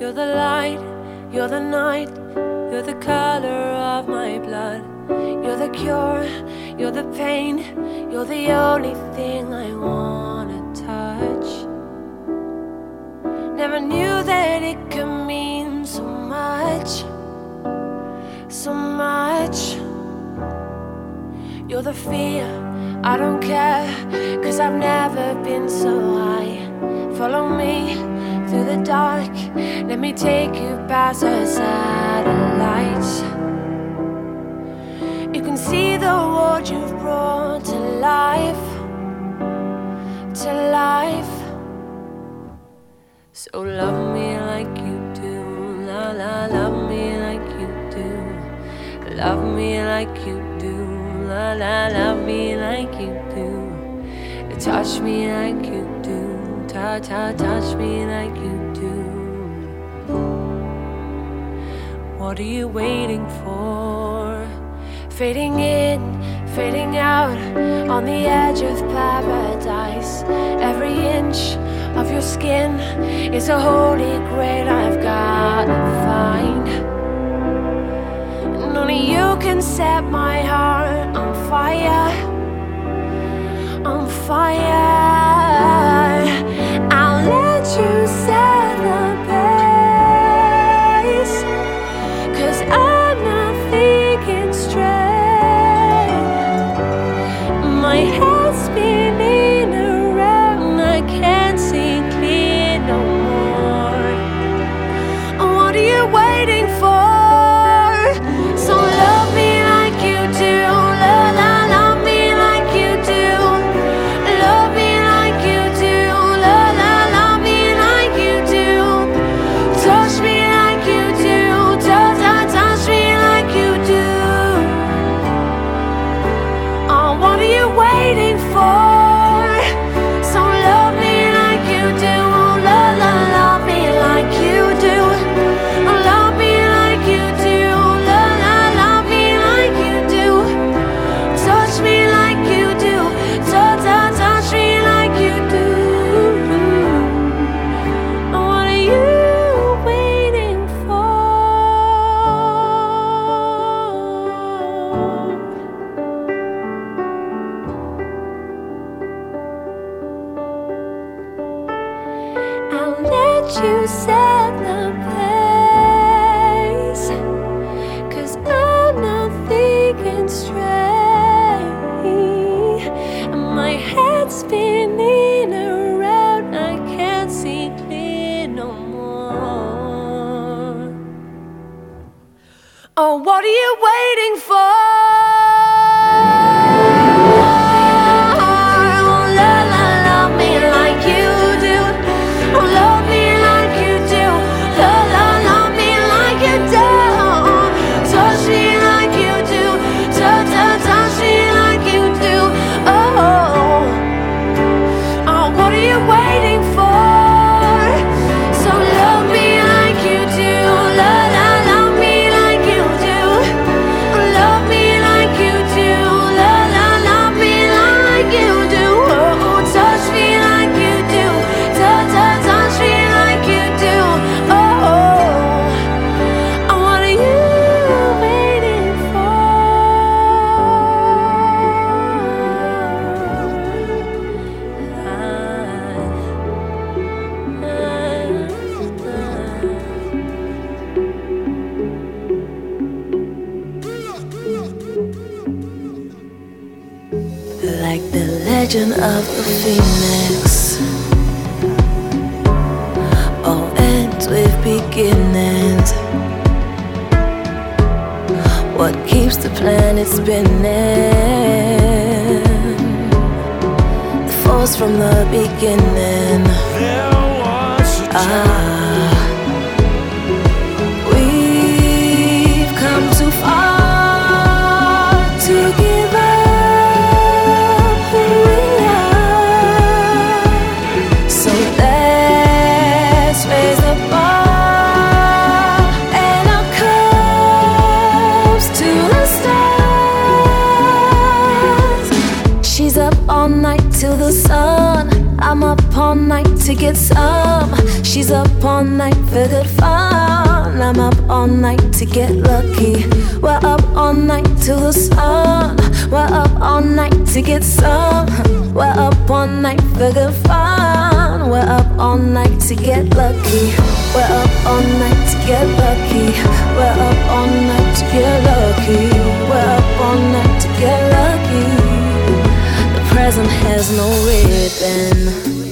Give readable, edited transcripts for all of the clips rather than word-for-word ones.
You're the light, you're the night, you're the color of my blood. You're the cure, you're the pain, you're the only thing I wanna touch. Never knew that it could mean so much, so much. You're the fear, I don't care, 'cause I've never been so high. Follow me through the dark, let me take you past the satellites. You can see the world you've brought to life, to life. So love me like you do, la la, love me like you do. Love me like you do, la la, love me like you do. Touch me like you do, touch me like you do. What are you waiting for? Fading in, fading out, on the edge of paradise. Every inch of your skin is a holy grail I've gotta find. And only you can set my heart on fire, on fire. I'll let you set the pace, 'cause I'm not thinking straight. My head's spinning around, I can't see clear no more. What are you waiting for? So love me like you do, la la, love me like you do. Love me like you do, la la, love me like you do. Touch me like you do, touch me like you do. Oh, what are you waiting for? So love me like you do, la la, love me like you do. Love me like you do, la la, love me like you do. Touch me like you do, touch me like you do. What are you waiting for? I'll let you set the pace, 'cause I'm not thinking straight. And my head's spinning around, I can't see clear no more. Oh, what are you waiting for? La la, love me like you do. Oh, love me like you do. La la, love me like you do. Touch me like you do. Touch me like you do. Oh, oh, what are you waiting for? So love me like you do. La la, love me like you do. Love me like you do. La la, love me like you do. Oh, touch me like you do. Touch me like you do. Oh, what are you waiting for? Like the legend of the phoenix, all ends with beginnings. What keeps the planet spinning? The force from the beginning. There was a time. We've come too far to give up who we are. So let's raise the bar and our cups to the stars. She's up all night till the sun, I'm up all night till to get some. She's up all night for good fun. I'm up all night to get lucky. We're up all night till the sun. We're up all night to get some. We're up all night for good fun. We're up all night to get lucky. We're up all night to get lucky. We're up all night to get lucky. We're up all night to get lucky. The present has no ribbon.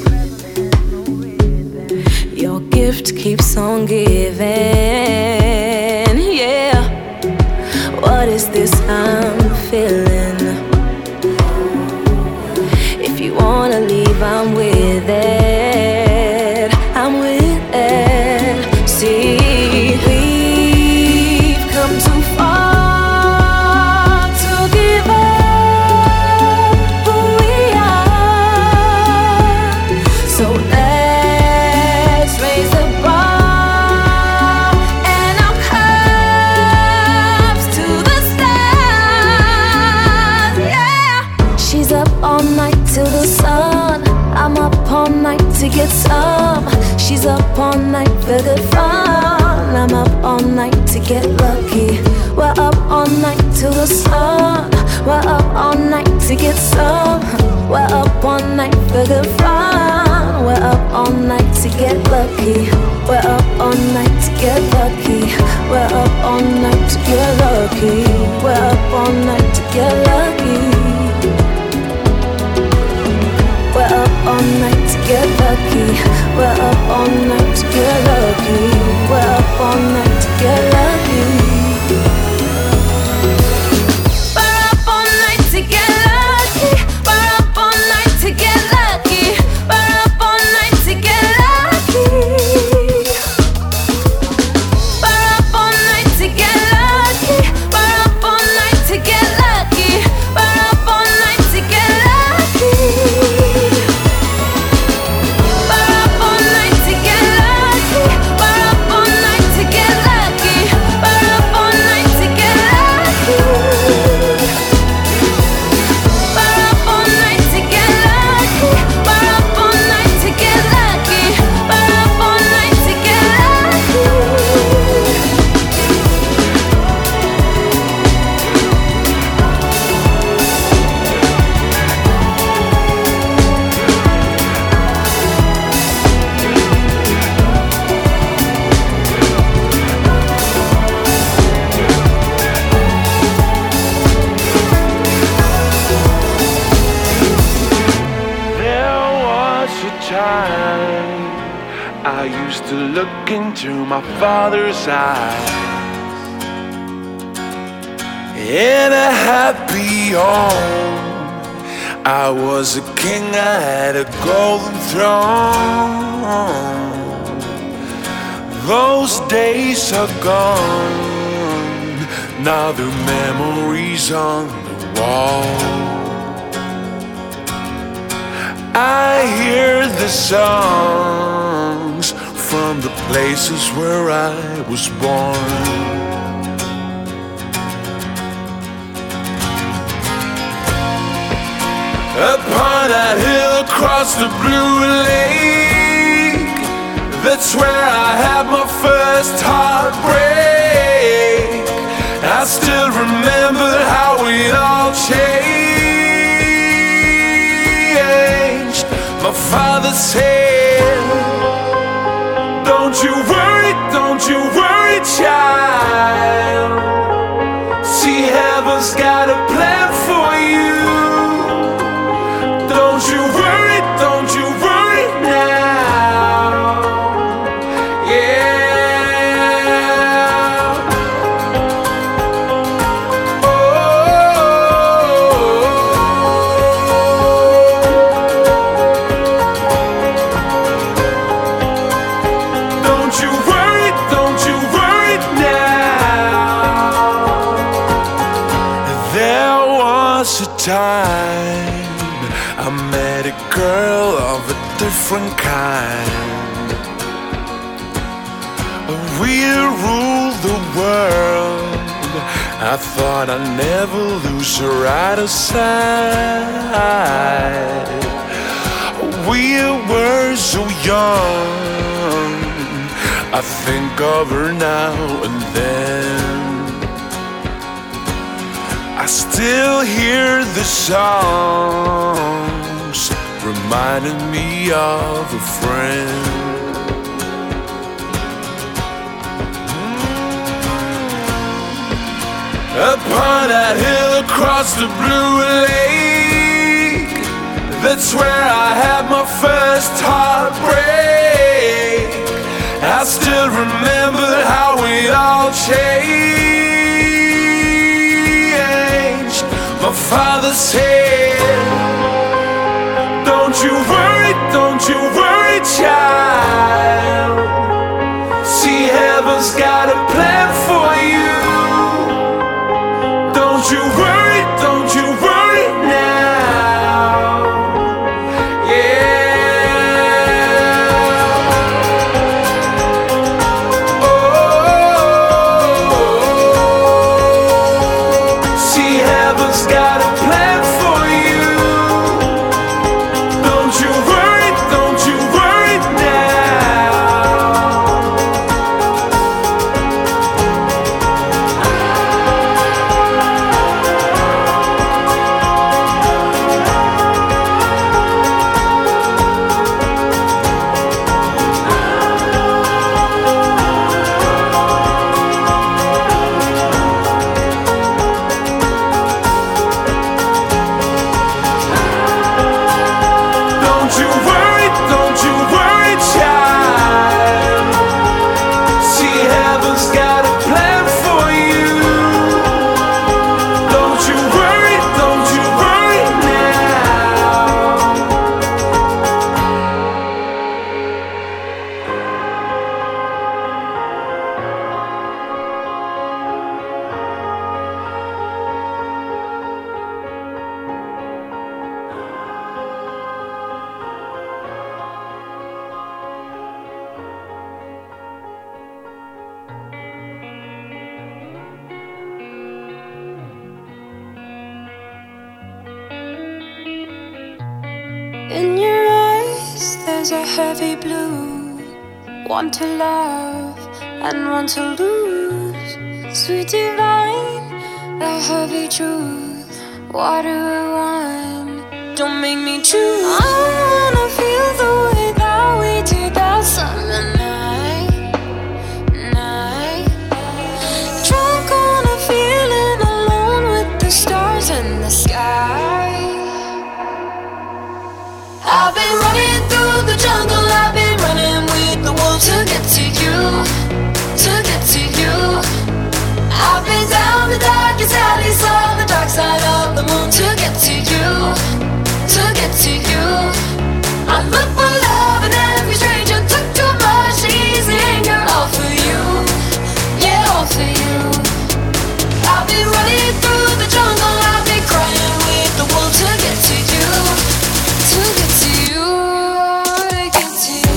Your gift keeps on giving. Yeah. What is this I'm feeling? If you wanna leave, I'm with it. I'm with it. See, we've come too far to give up who we are. So let's raise the bar and our cups to the stars. Yeah. She's up all night till the sun. I'm up all night to get some. She's up all night for good fun. I'm up all night to get lucky. We're up all night till the sun. We're up all night to get some. We're up all night for good fun. We're up all night to get lucky. We're up all night to get lucky. We're up all night to get lucky. We're up all night to get lucky. We're up all night to get lucky. We're up all night to get lucky. We're up all night to get lucky. We're up all night to get lucky. We're up all night to get lucky. We're up all night to get lucky. We're up all night to get lucky. We're up all night to get lucky. We're up all night to get lucky. I used to look into my father's eyes in a happy home. I was a king, I had a golden throne. Those days are gone, now the memories on the wall. I hear the songs from the places where I was born. Upon that hill across the blue lake, that's where I had my first heartbreak. I still remember how it all changed. My father said, don't you worry, child. See, heaven's got a plan for you. Don't you worry now. Yeah. Oh. Don't you worry now. There was a time I met a girl of a different kind. We'll rule the world. I thought I'd never lose her out of sight. We we were so young. I think of her now and then. I still hear the songs reminding me of a friend. Upon that hill across the blue lake, that's where I had my first heartbreak. I still remember how we all changed. My father said, don't you worry, child. See, heaven's got a plan for you. Don't you worry now. Yeah. Oh, see, heaven's got a plan for you. Don't you worry now. Don't you worry, child. See, heaven's got a plan for you. Don't you worry now. In your eyes, there's a heavy blue. One to love and one to lose. Sweet divine, the heavy truth. Water or wine, don't make me choose. I wanna feel the way that we did that summer night. Drunk on a feeling, alone with the stars in the sky. I've been running through the jungle, I've been running with the wolves to get to you, to get to you. I've been down the darkest alley, saw the dark side of the moon to get to you, to get to you. I look for love in every stranger, took too much easy anger, all for you, yeah, all for you. I've been running through the jungle, I've been crying with the wolves to get to you, to get to you, to get to you.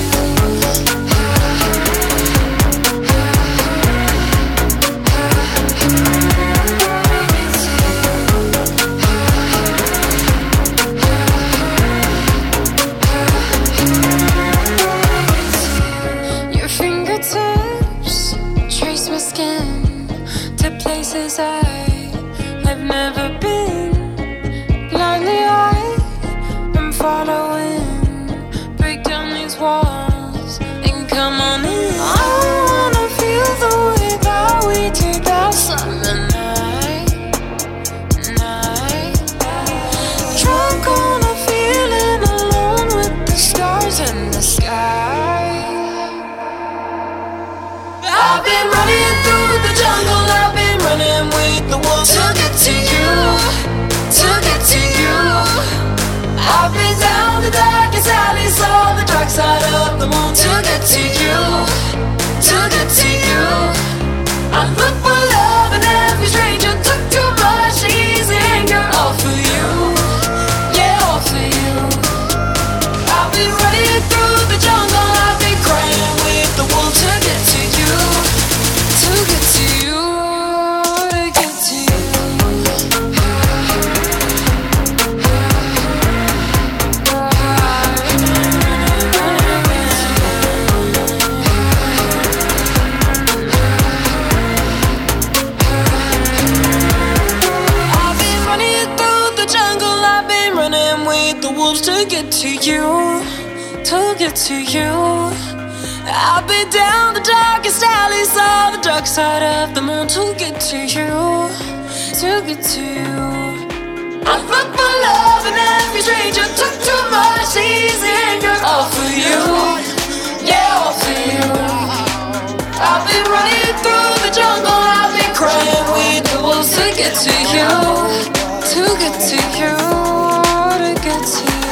the wolves to get to you, to get to you. I've been down the darkest alleys on the dark side of the moon to get to you, to get to you. I look for love in every stranger, took too much easy anger. All for you, yeah, all for you. I've been running through the jungle, I've been crying with the wolves to get to you, to get to you, to get to you.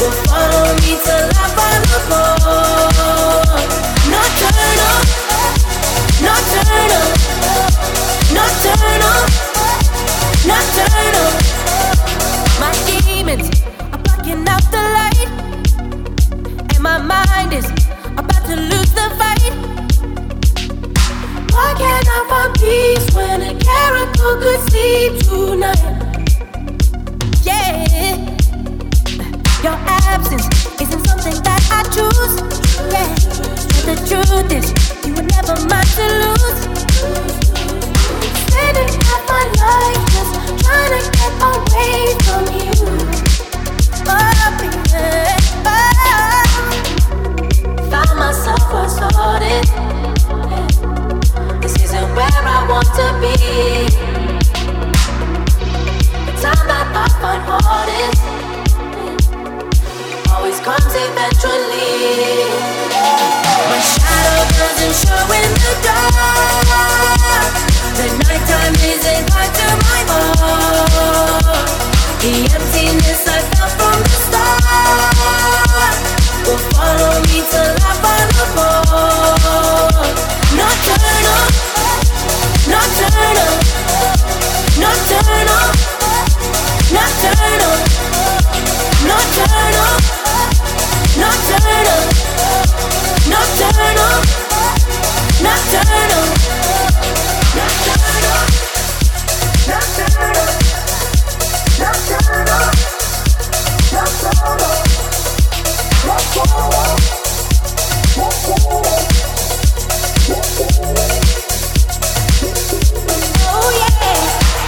Follow me till I find the floor. Nocturnal. could sleep tonight. Yeah, your absence isn't something that I choose. Yeah, but the truth is, you were never mine to lose. Spending half my life just trying to get away from you. Oh, baby, found myself cross-hearted. This isn't where I want to be. The time that I find hardest always comes eventually. My shadow doesn't show in the dark. The nighttime isn't kind to my heart. The emptiness I felt from the start will follow me till I find the pole. Nocturnal, nocturnal, nocturnal, nocturnal, nocturnal, nocturnal, nocturnal, nocturnal, nocturnal, nocturnal, nocturnal, nocturnal, nocturnal. Oh yeah.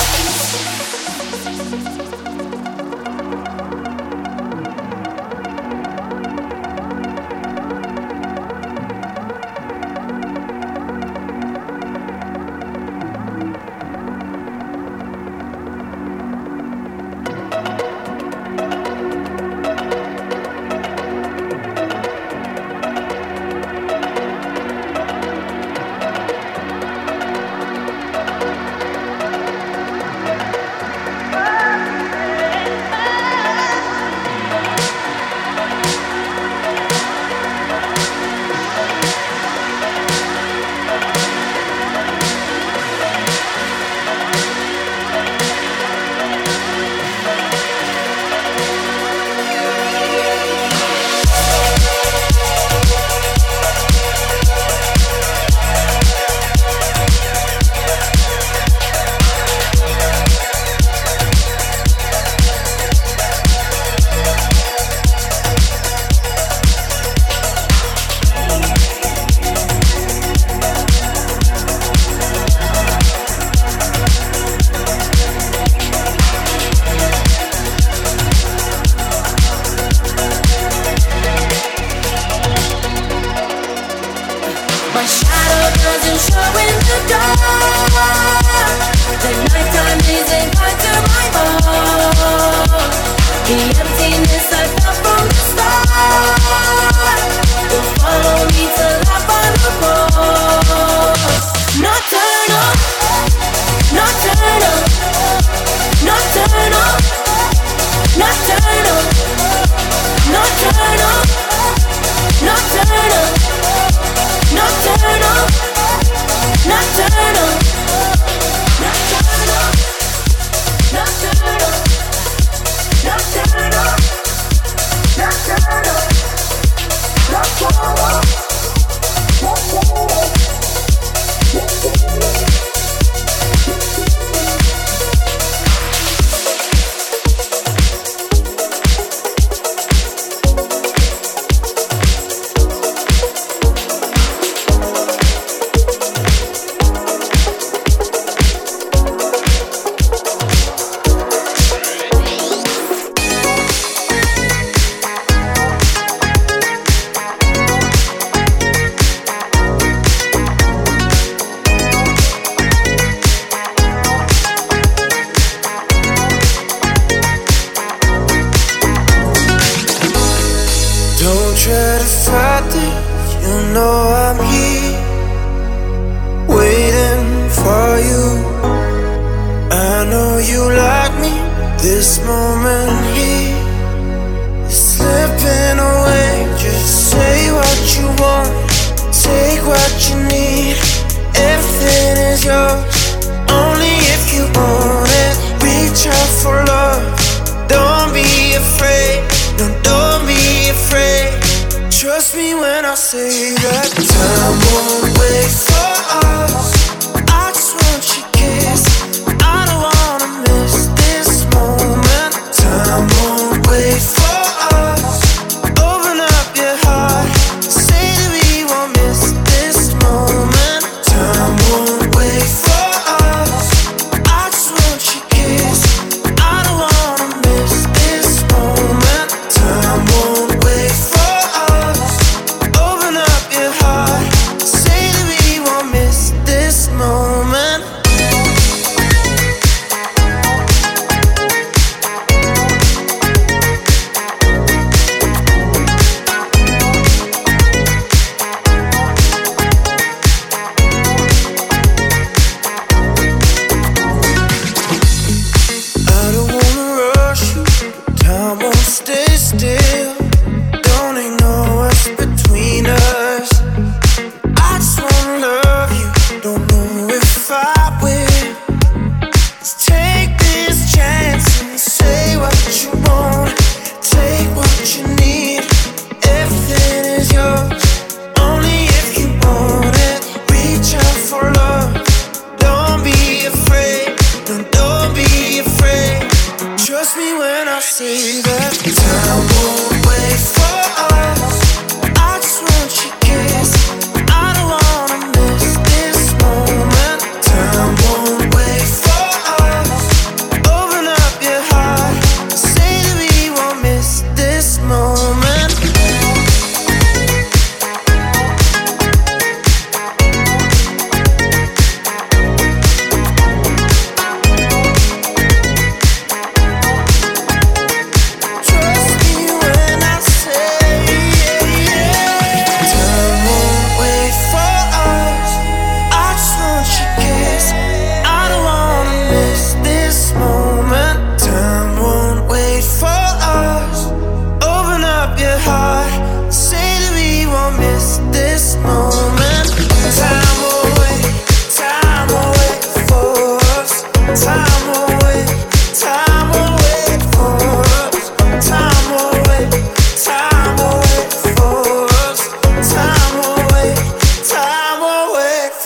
say that time won't wait for us. I just want your kiss. I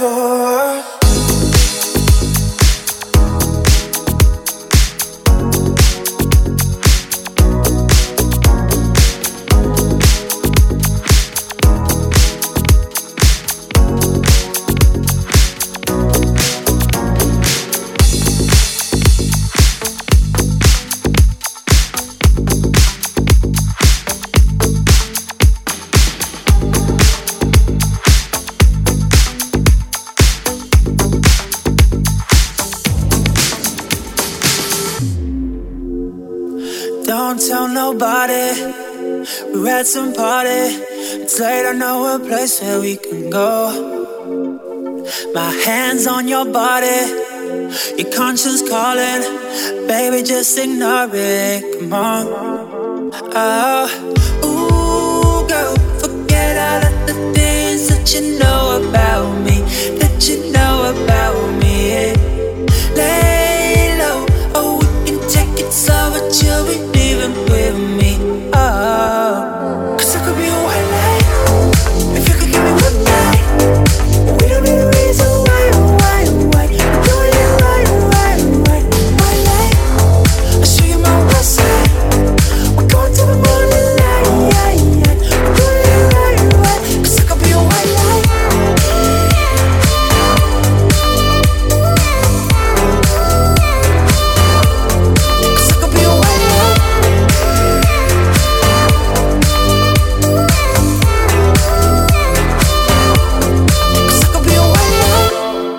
Don't tell nobody, we're at some party. It's late, I know a place where we can go. My hands on your body, your conscience calling. Baby, just ignore it, come on. Oh, ooh, girl, forget all of the things that you know about me. That you know about me, yeah. Lay low, oh, we can take it slow, but you'll be leaving with me, oh. Cause I could be a white light, if you could give me one night. We don't need a reason why, why. We're doing it right, white light. I'll show you my west side. We're going to the morning light, we're doing it right. Cause I could be a white light. Cause I could be a white light. Cause I could be a white light.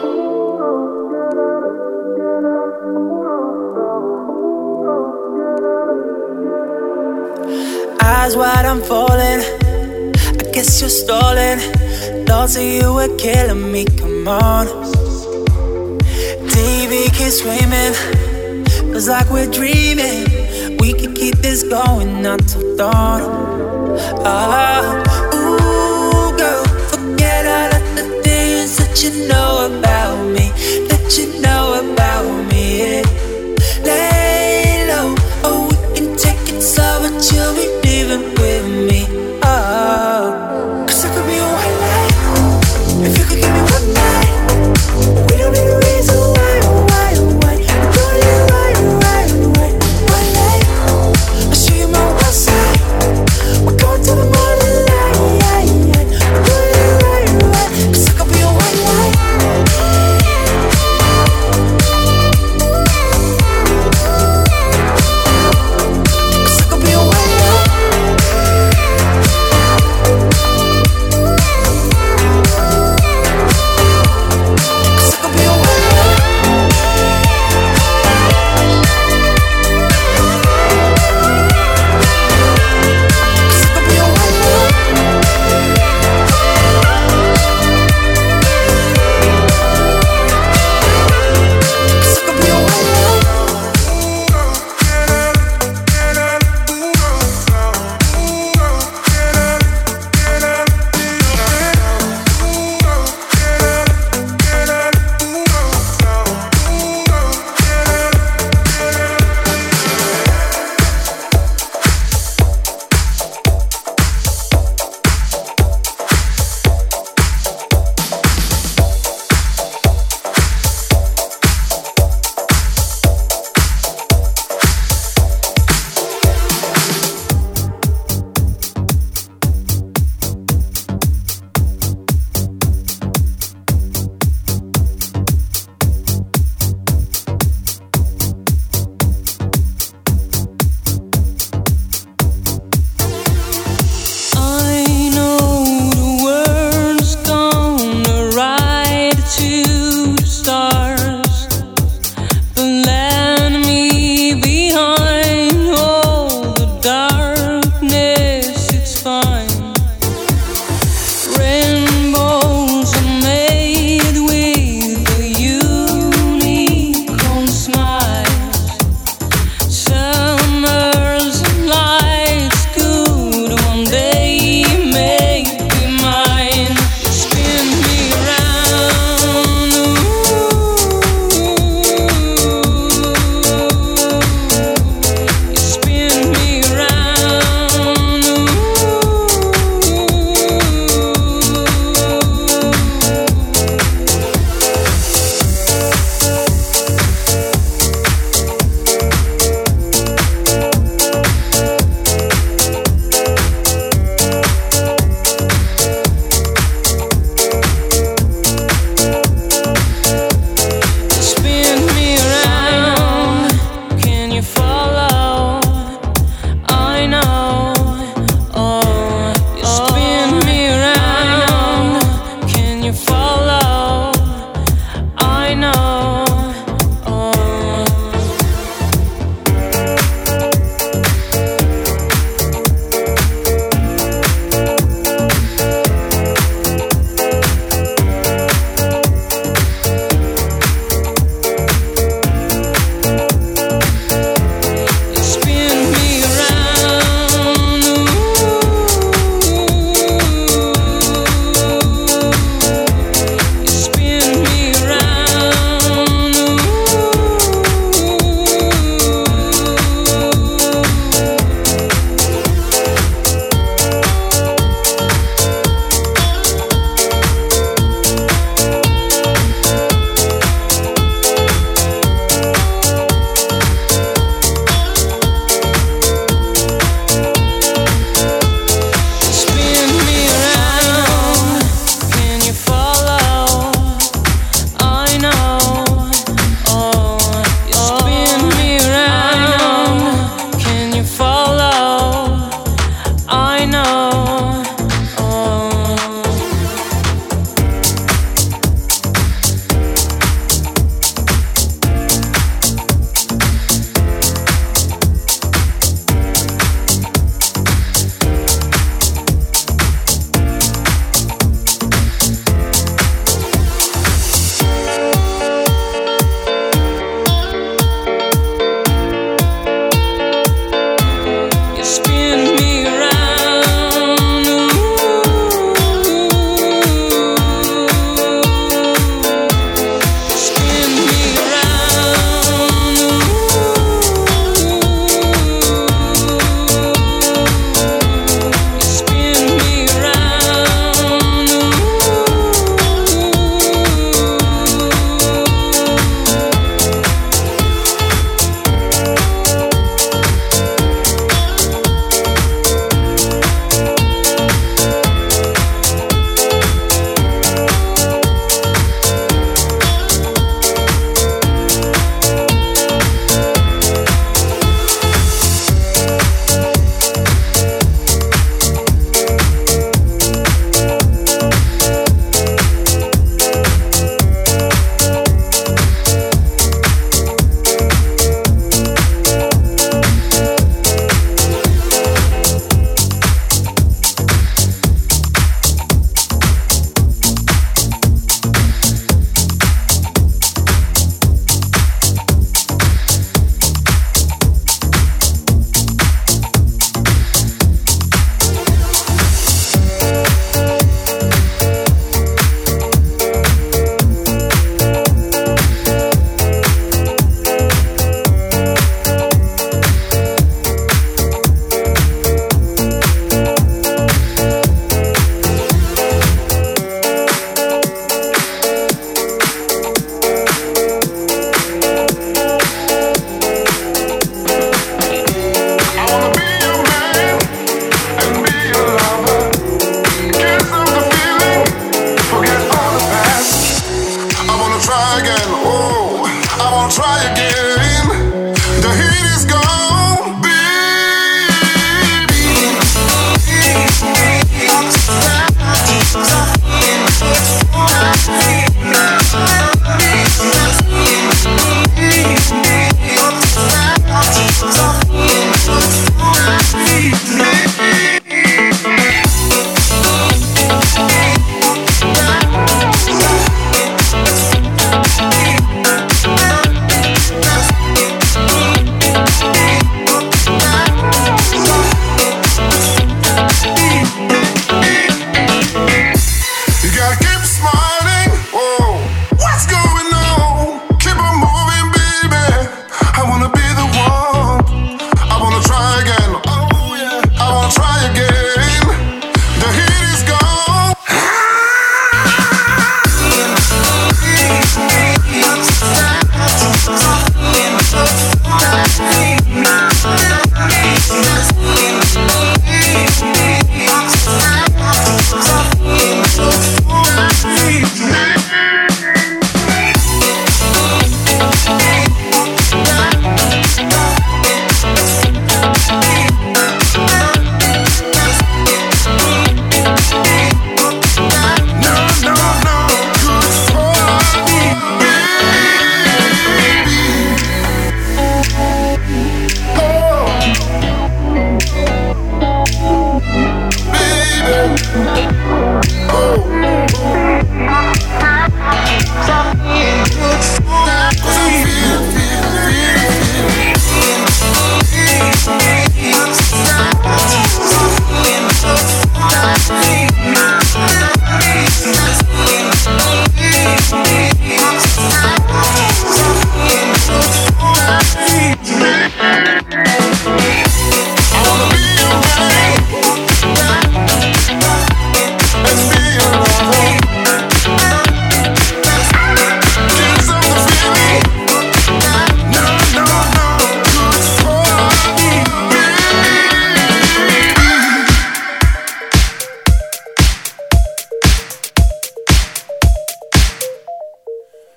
Eyes wide, I'm falling. I guess you're stalling. Thoughts of you were killing me, come on. TV keeps screaming, feels like we're dreaming. We could keep this going until dawn. Ooh, girl, forget all of the things that you know about me. That you know about me, yeah. Lay low, oh, we can take it slow, but you'll be leaving with me, oh. Cause I could be a white light, if you could give me one night. We don't need a reason why, we're doing it right, white light. I'll show you my west side. We're going to the morning light, we're doing it right. Cause I could be a white light. Cause I could be a white light. Cause I could be a white light. Cause I could be a white light. Cause I could be a white light. Spin me round alone. I know.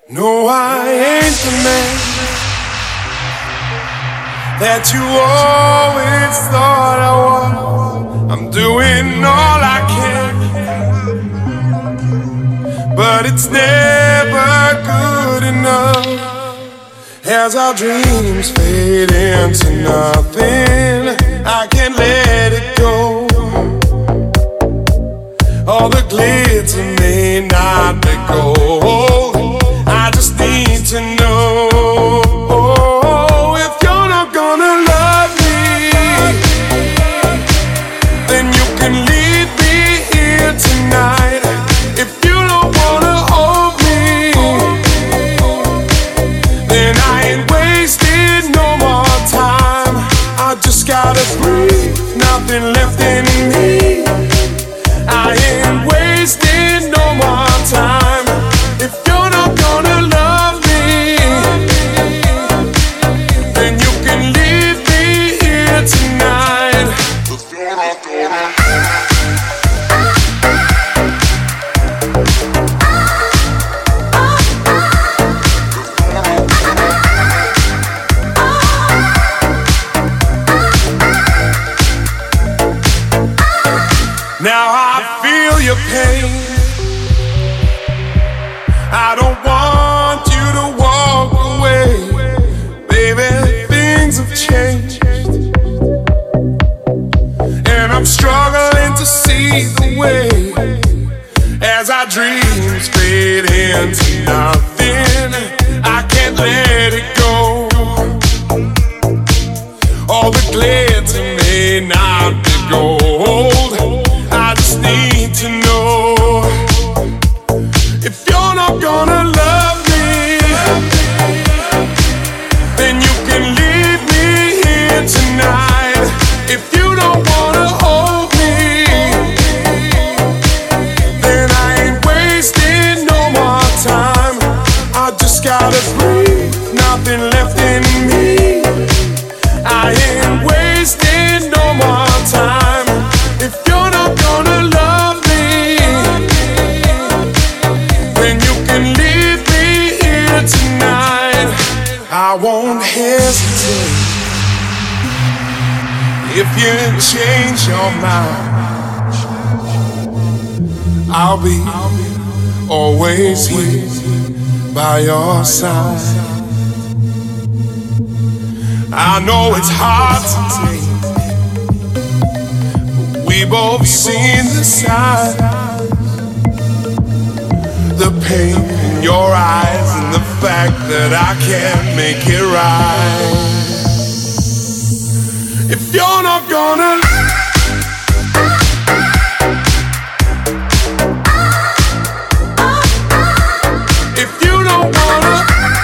No, I ain't the man that you always thought I was. I'm doing all I can, but it's never good enough. As our dreams fade into nothing, I can't let it go. All the glitter may not be gold. I just need to know if you're not gonna love me, then you can leave me here tonight. If you don't wanna hold me, then I ain't wasting no more time. I just gotta breathe, nothing left in me. I ain't wasting no more time. If you're not gonna love me, then you can leave me here tonight. If you're not gonna. Now I feel your pain. I don't want you to walk away. Baby, things have changed, and I'm struggling to see the way. As our dreams fade into nothing, I can't let it go. All the glitter may not be gold. I just need to know if you're not gonna love me, then you can leave me here tonight. If you don't wanna hold me, then I ain't wasting no more time. I just gotta breathe, nothing left in me. I ain't wasting no more time. If you're not gonna love me, then you can leave me here tonight. I won't hesitate if you change your mind. I'll be always here by your side. I know it's hard to take, we both seen the signs, the pain in your eyes and the fact that I can't make it right. If you're not gonna, if you don't wanna,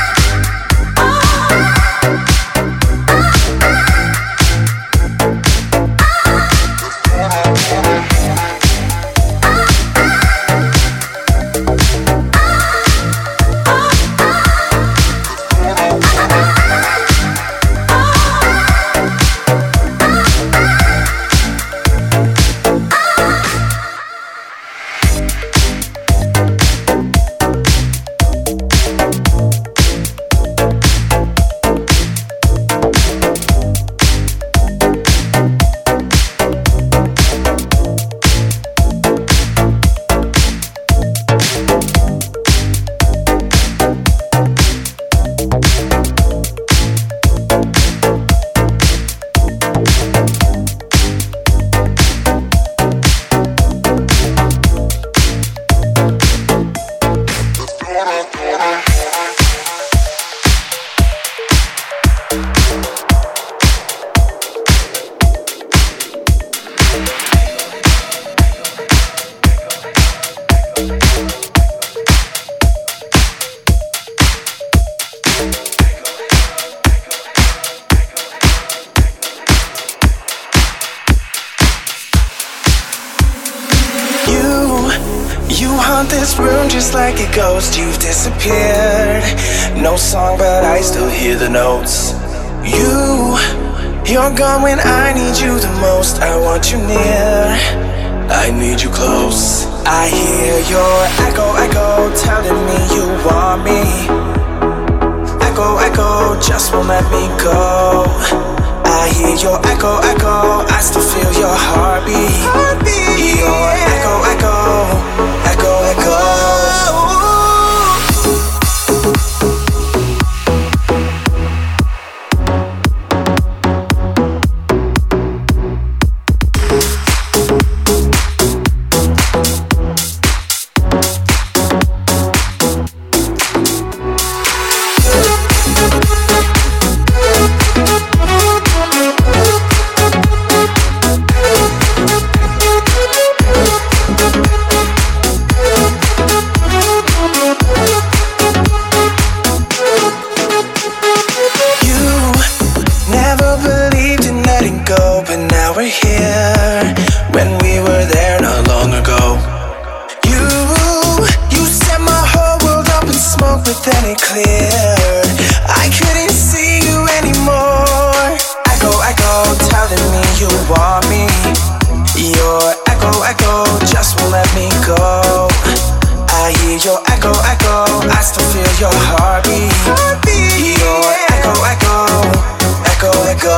This room just like a ghost, you've disappeared. No song, but I still hear the notes. You're gone when I need you the most. I want you near, I need you close. I hear your echo, telling me you want me. but then it cleared. I couldn't see you anymore. Echo, echo, telling me you want me. Your echo, echo, just won't let me go. I hear your echo, echo, I still feel your heartbeat. Your echo, echo, echo, echo.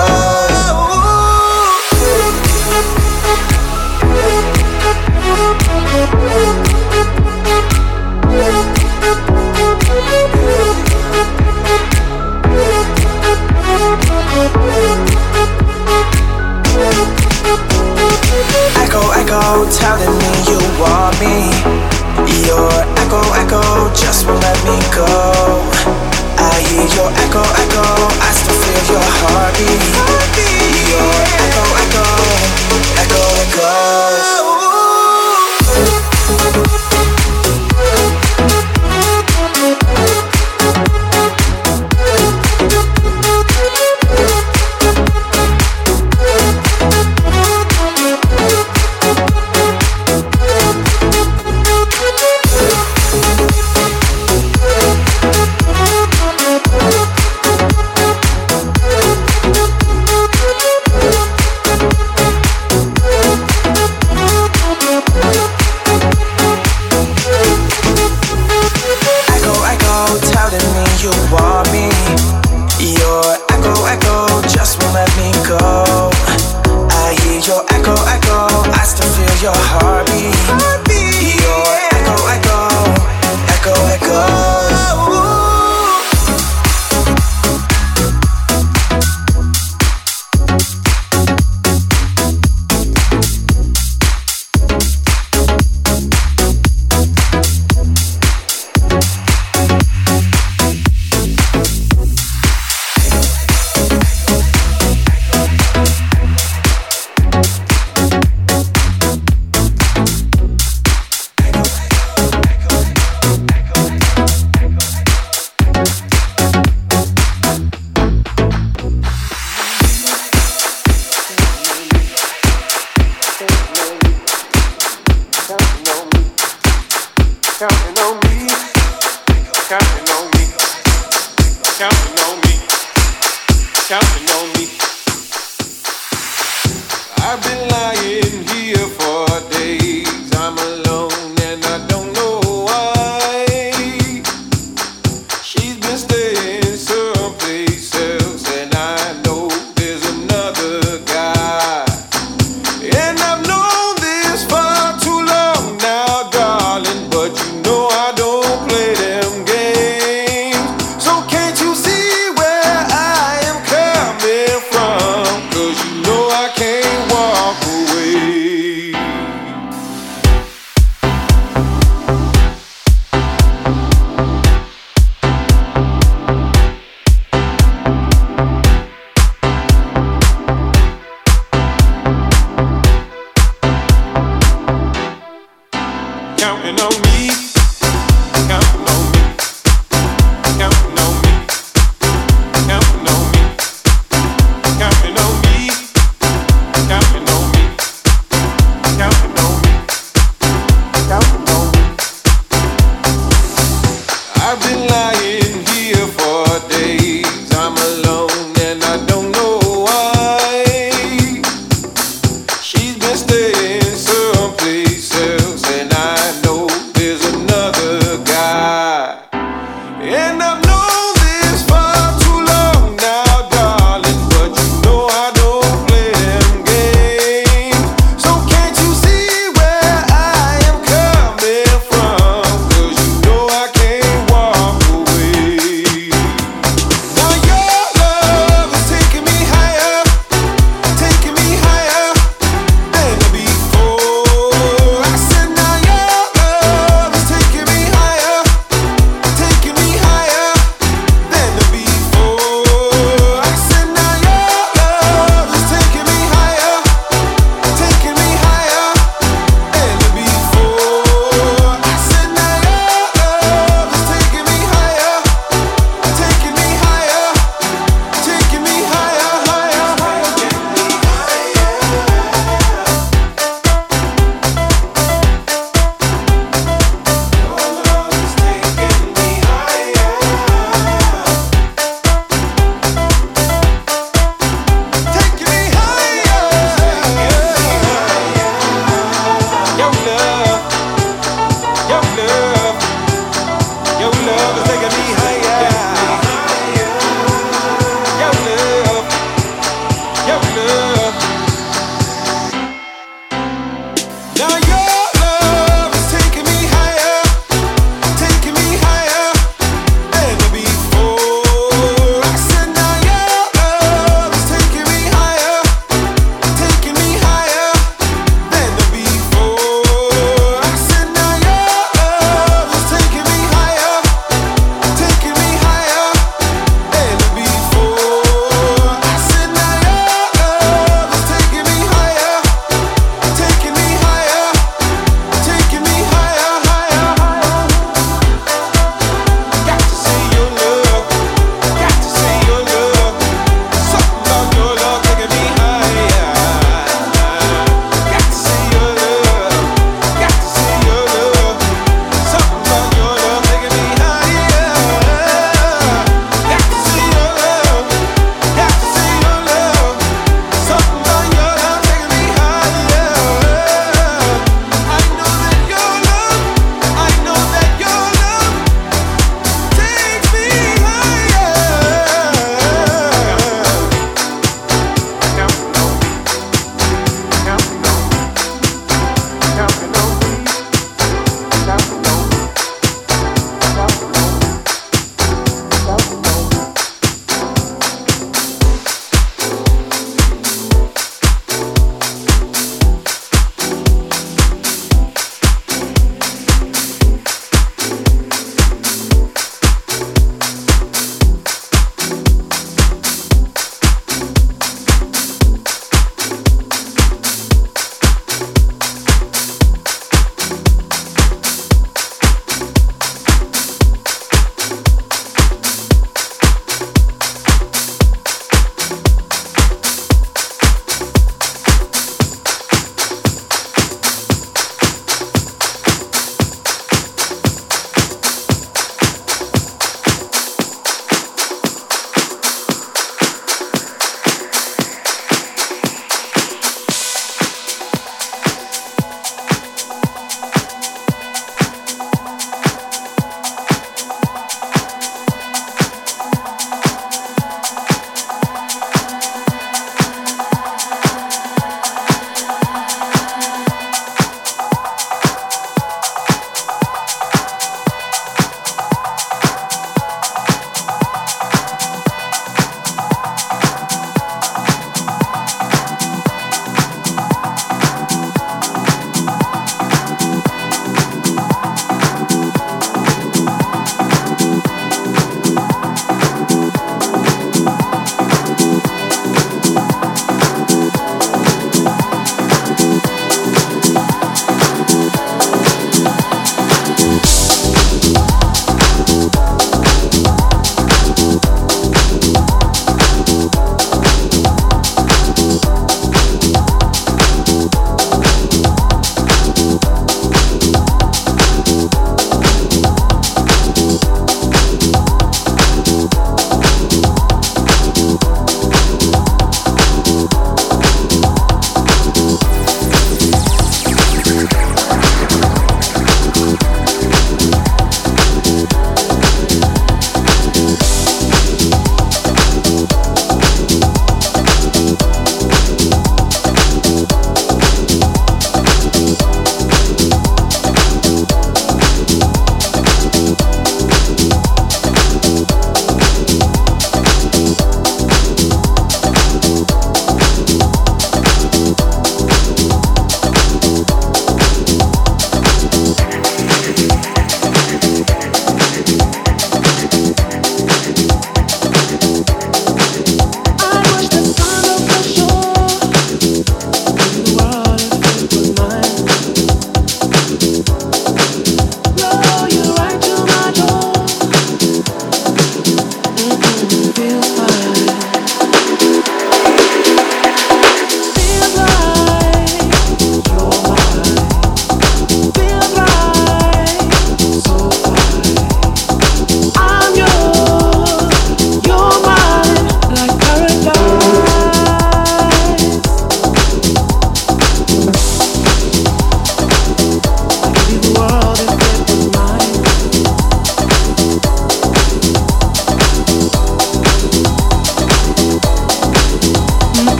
Echo, echo, telling me you want me. Your echo, echo, just won't let me go. I hear your echo, echo, I still feel your heartbeat. Your echo, echo, echo, echo.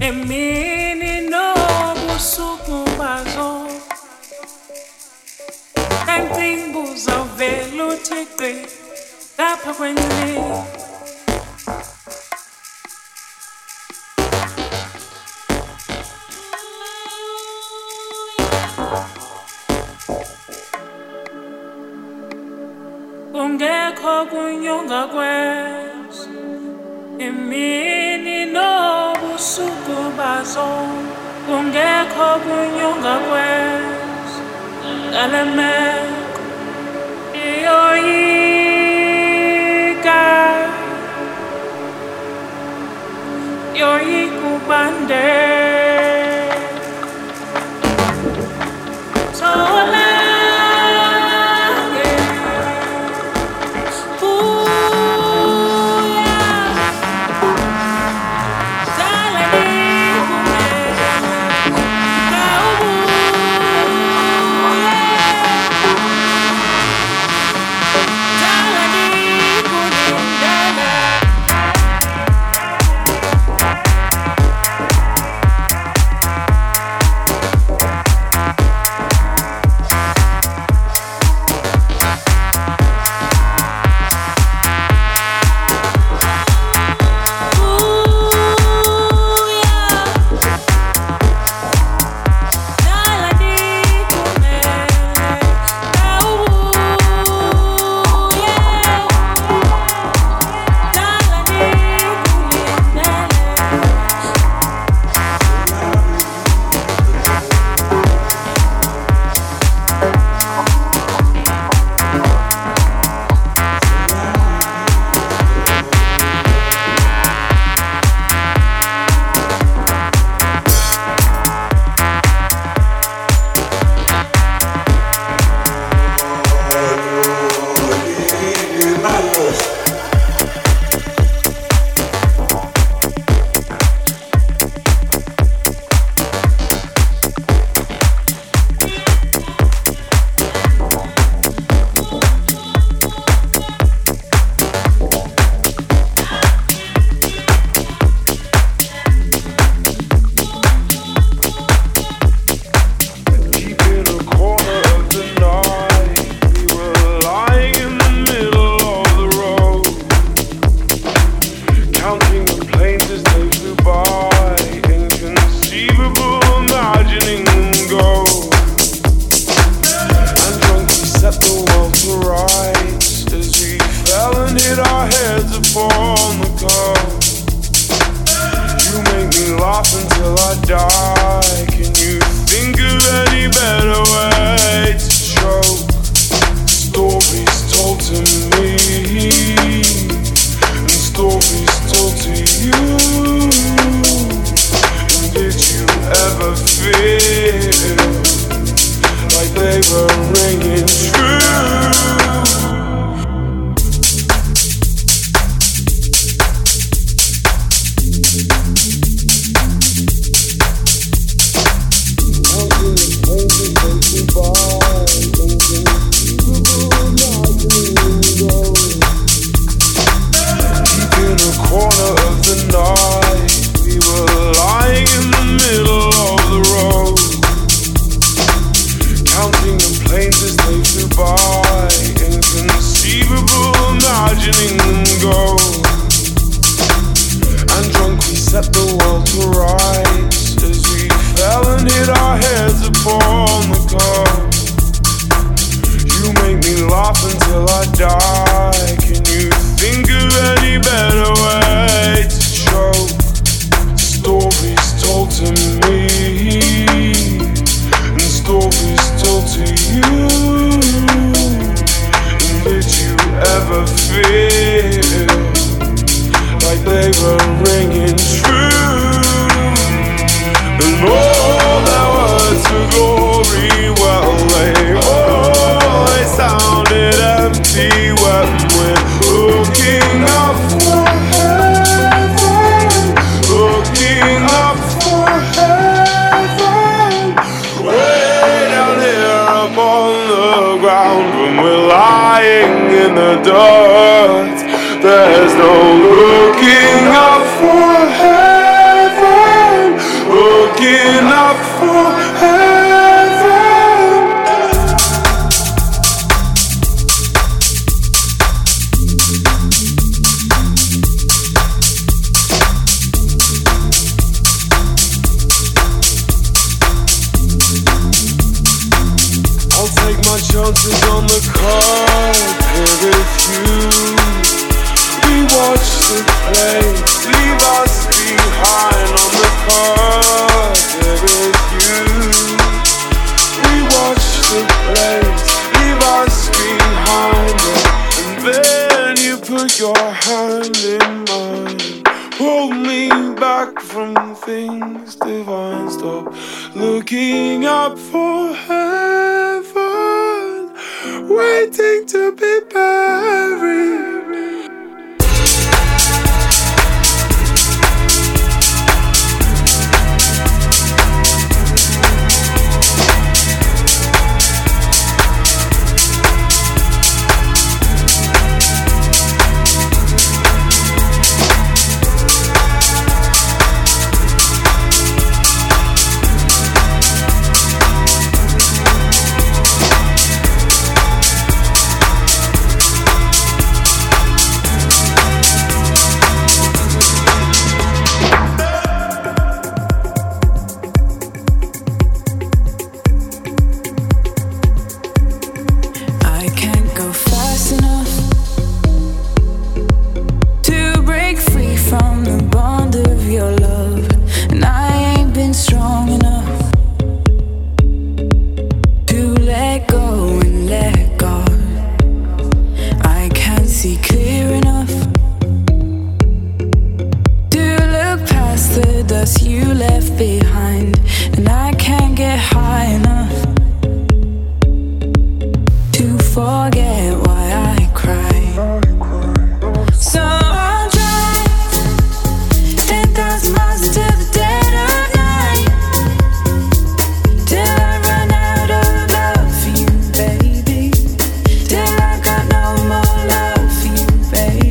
Emini nobusuku bazo Nangimbuza vele uThixo lapha kwendlini Kungekho kunyonga kwethu Emini nobusuku bazo Kungekho kunyonga kwethu Ngalemeko iyoyika Yoyikubande Sola There's no looking up for heaven. chances on the card, there is you. We watch the play, leave us behind on the card, there is you. We watch the play, leave us behind, and then you put your hand in mine. Hold me back from things divine. Stop looking up for heaven, waiting to be buried.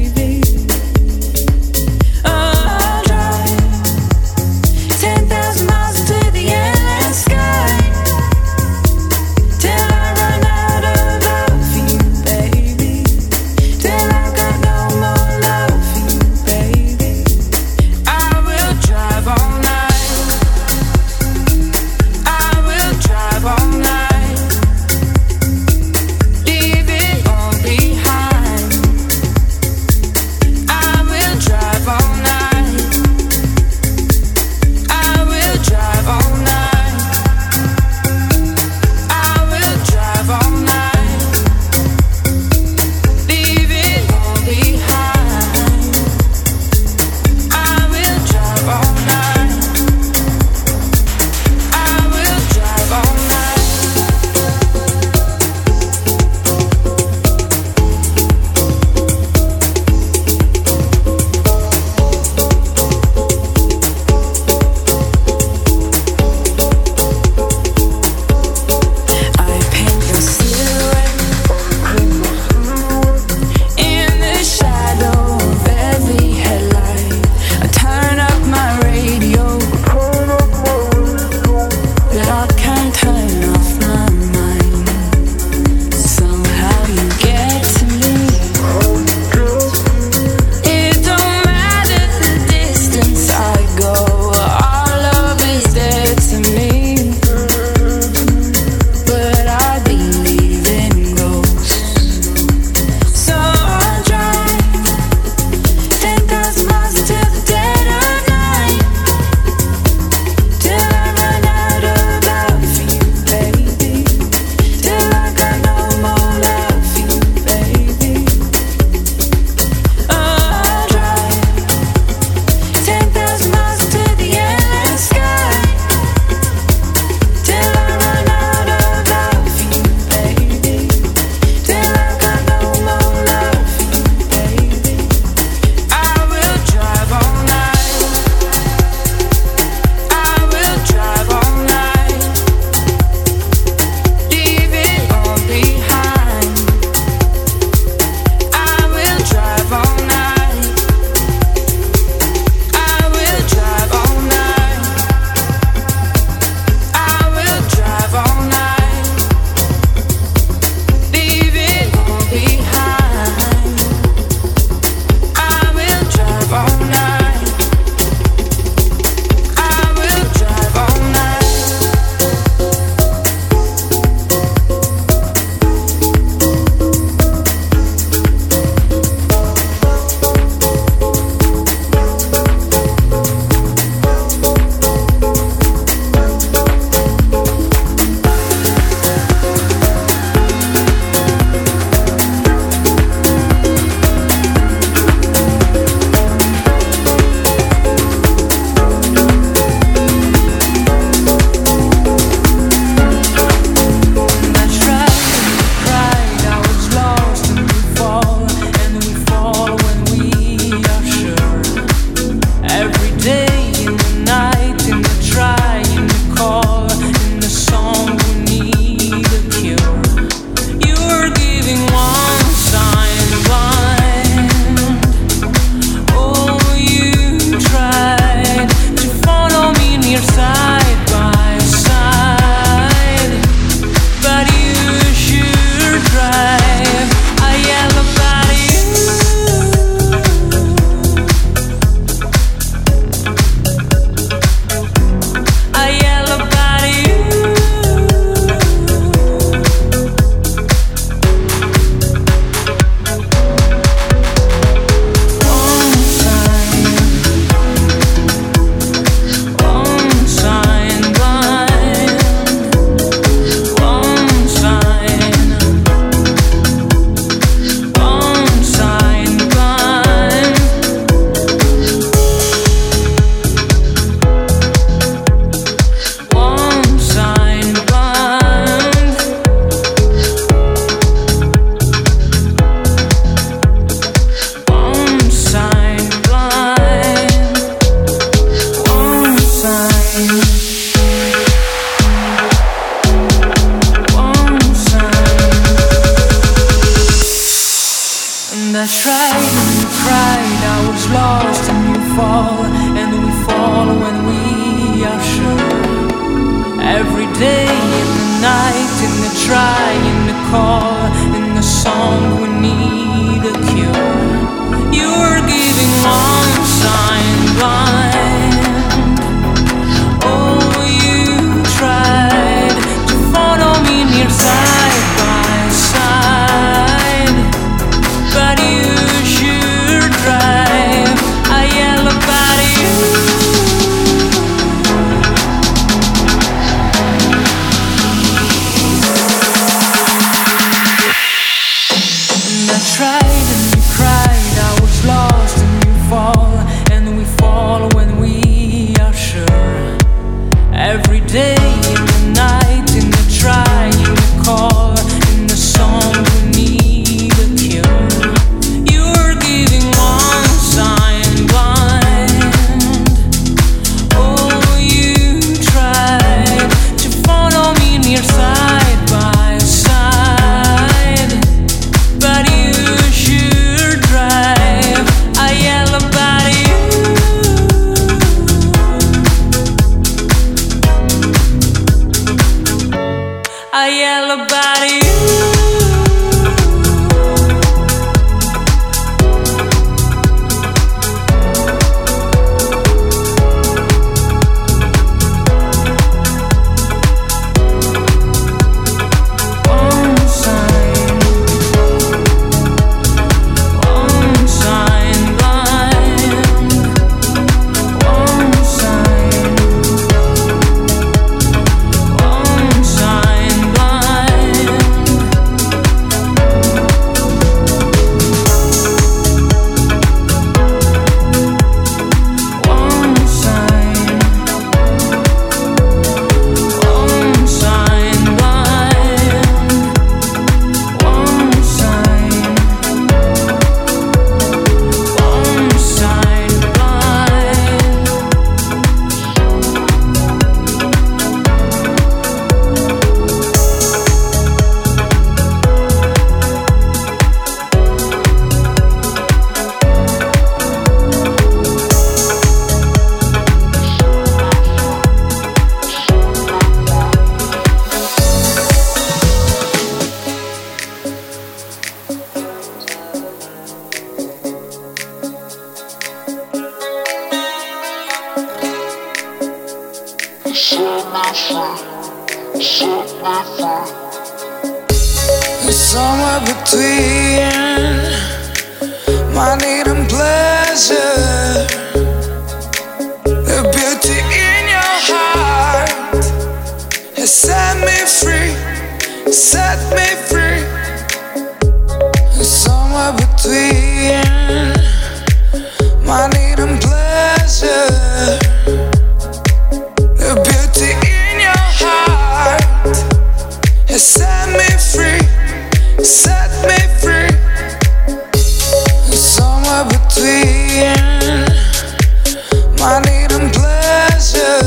Thousand trying to call in the song we need a cure. You were giving one sign blind. Oh, you tried to follow me near side by side, but you sure drive. I yell about you. I tried and you cried, I was lost and you fall, and we fall when we are sure. Every day in the night, in the trying to call, in the song we need a cure. You were giving one sign blind. Oh, you tried to follow me near side by side, but you sure drive. I yell about you. I yell about you. One sign blind. One sign blind. Somewhere between my need and pleasure, the beauty in your heart has set me free, set me free. Somewhere between my need and pleasure, the beauty in your heart has set me free, set me free. Somewhere between my need and pleasure,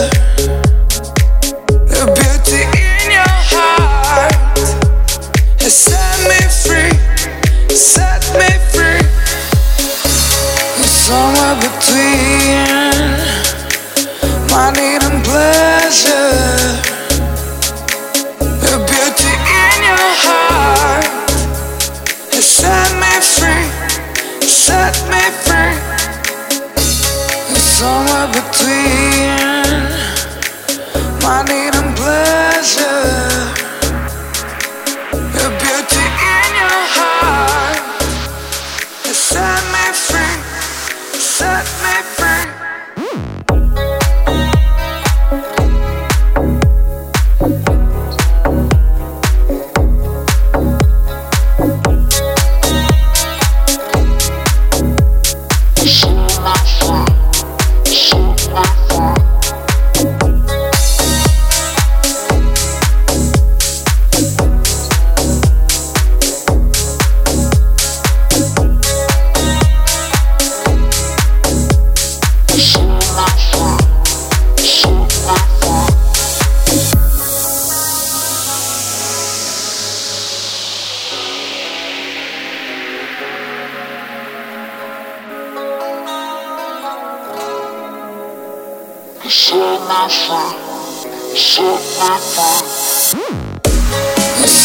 the beauty in your heart has set me free, set me free. Somewhere between my need and pleasure, the beauty in your heart has set me free, set me free. Somewhere between my need and pleasure, the beauty in your heart has set me free, set me free.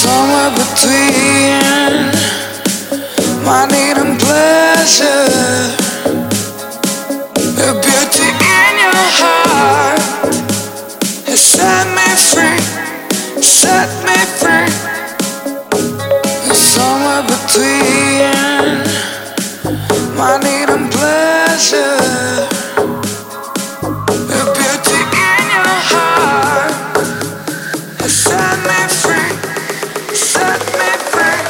somewhere between my need and pleasure. The beauty in your heart has set me free, set me free. Somewhere between my need and pleasure. The beauty in your heart has set me free, set me free.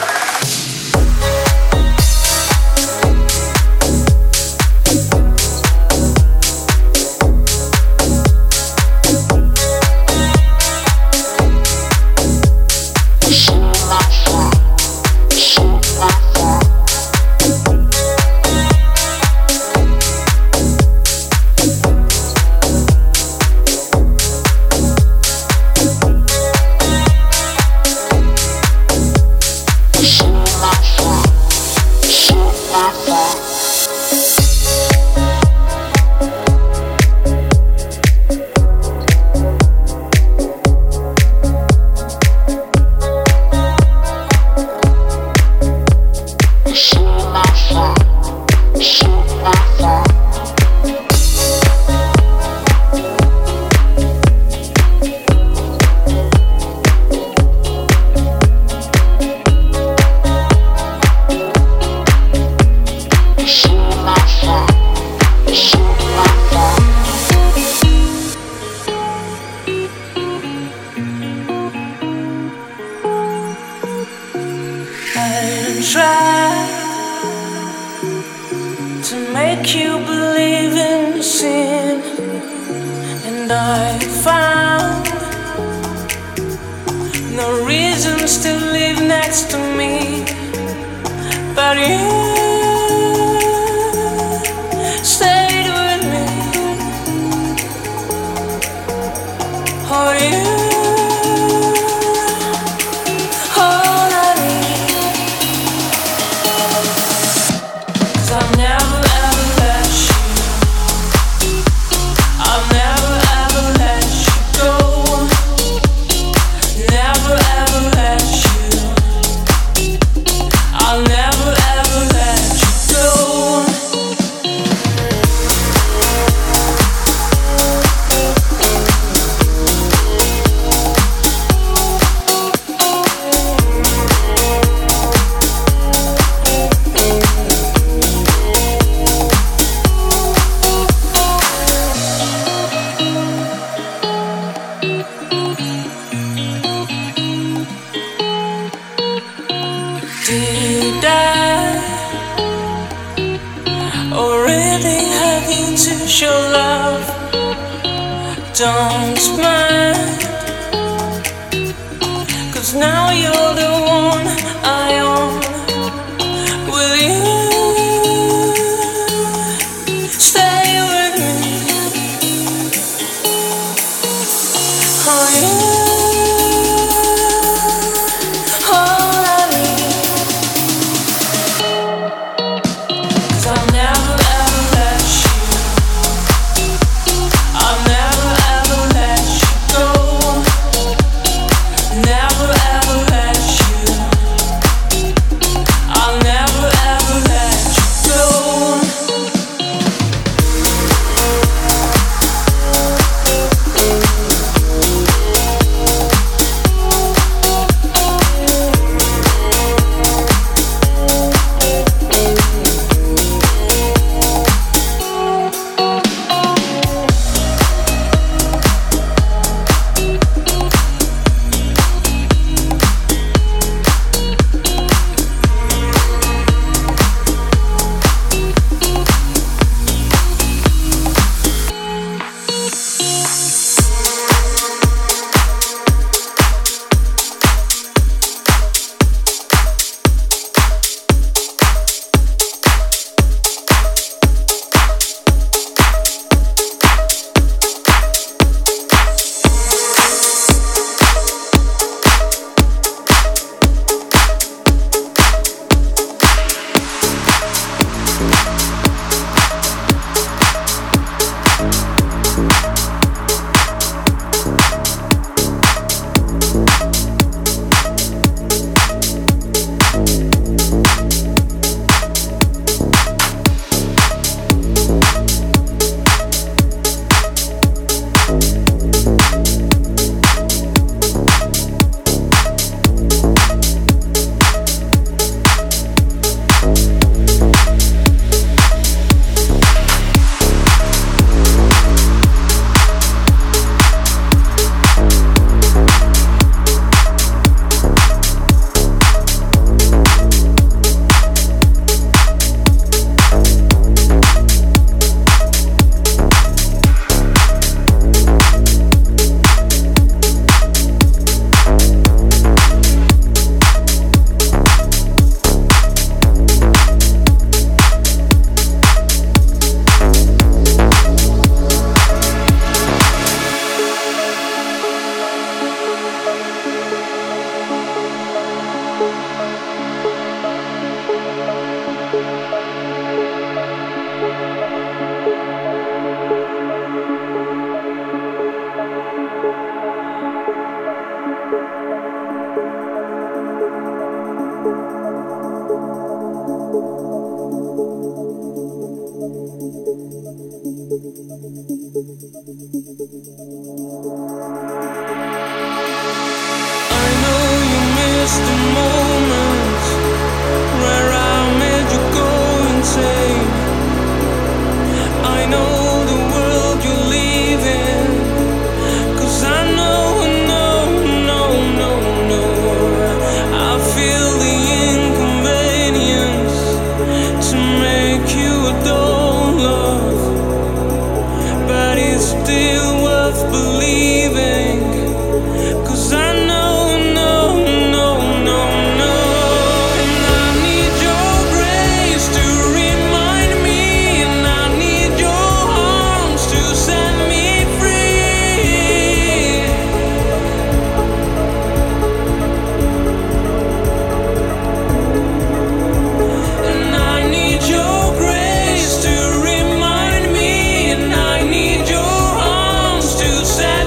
Say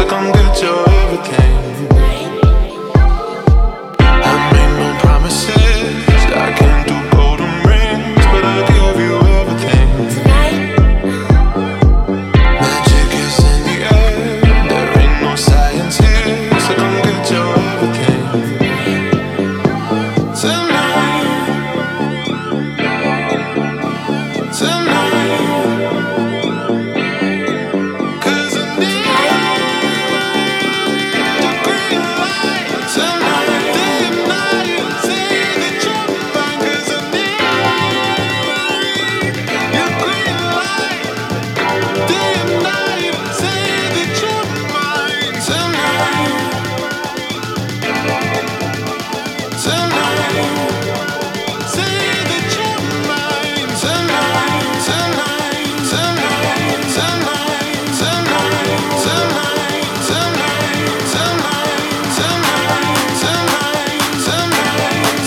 come get your everything. I made no promises, I can't do golden rings, but I'll give you everything. Magic is in the air, there ain't no science here, so come get your everything. Tonight, cause I need the green light. Tonight, day and night, say that you're mine, cause I need your green light. Day and night, say that you're mine. Tonight, say that you're mine. Tonight, tonight, tonight, tonight, tonight, tonight, tonight, tonight, tonight, tonight,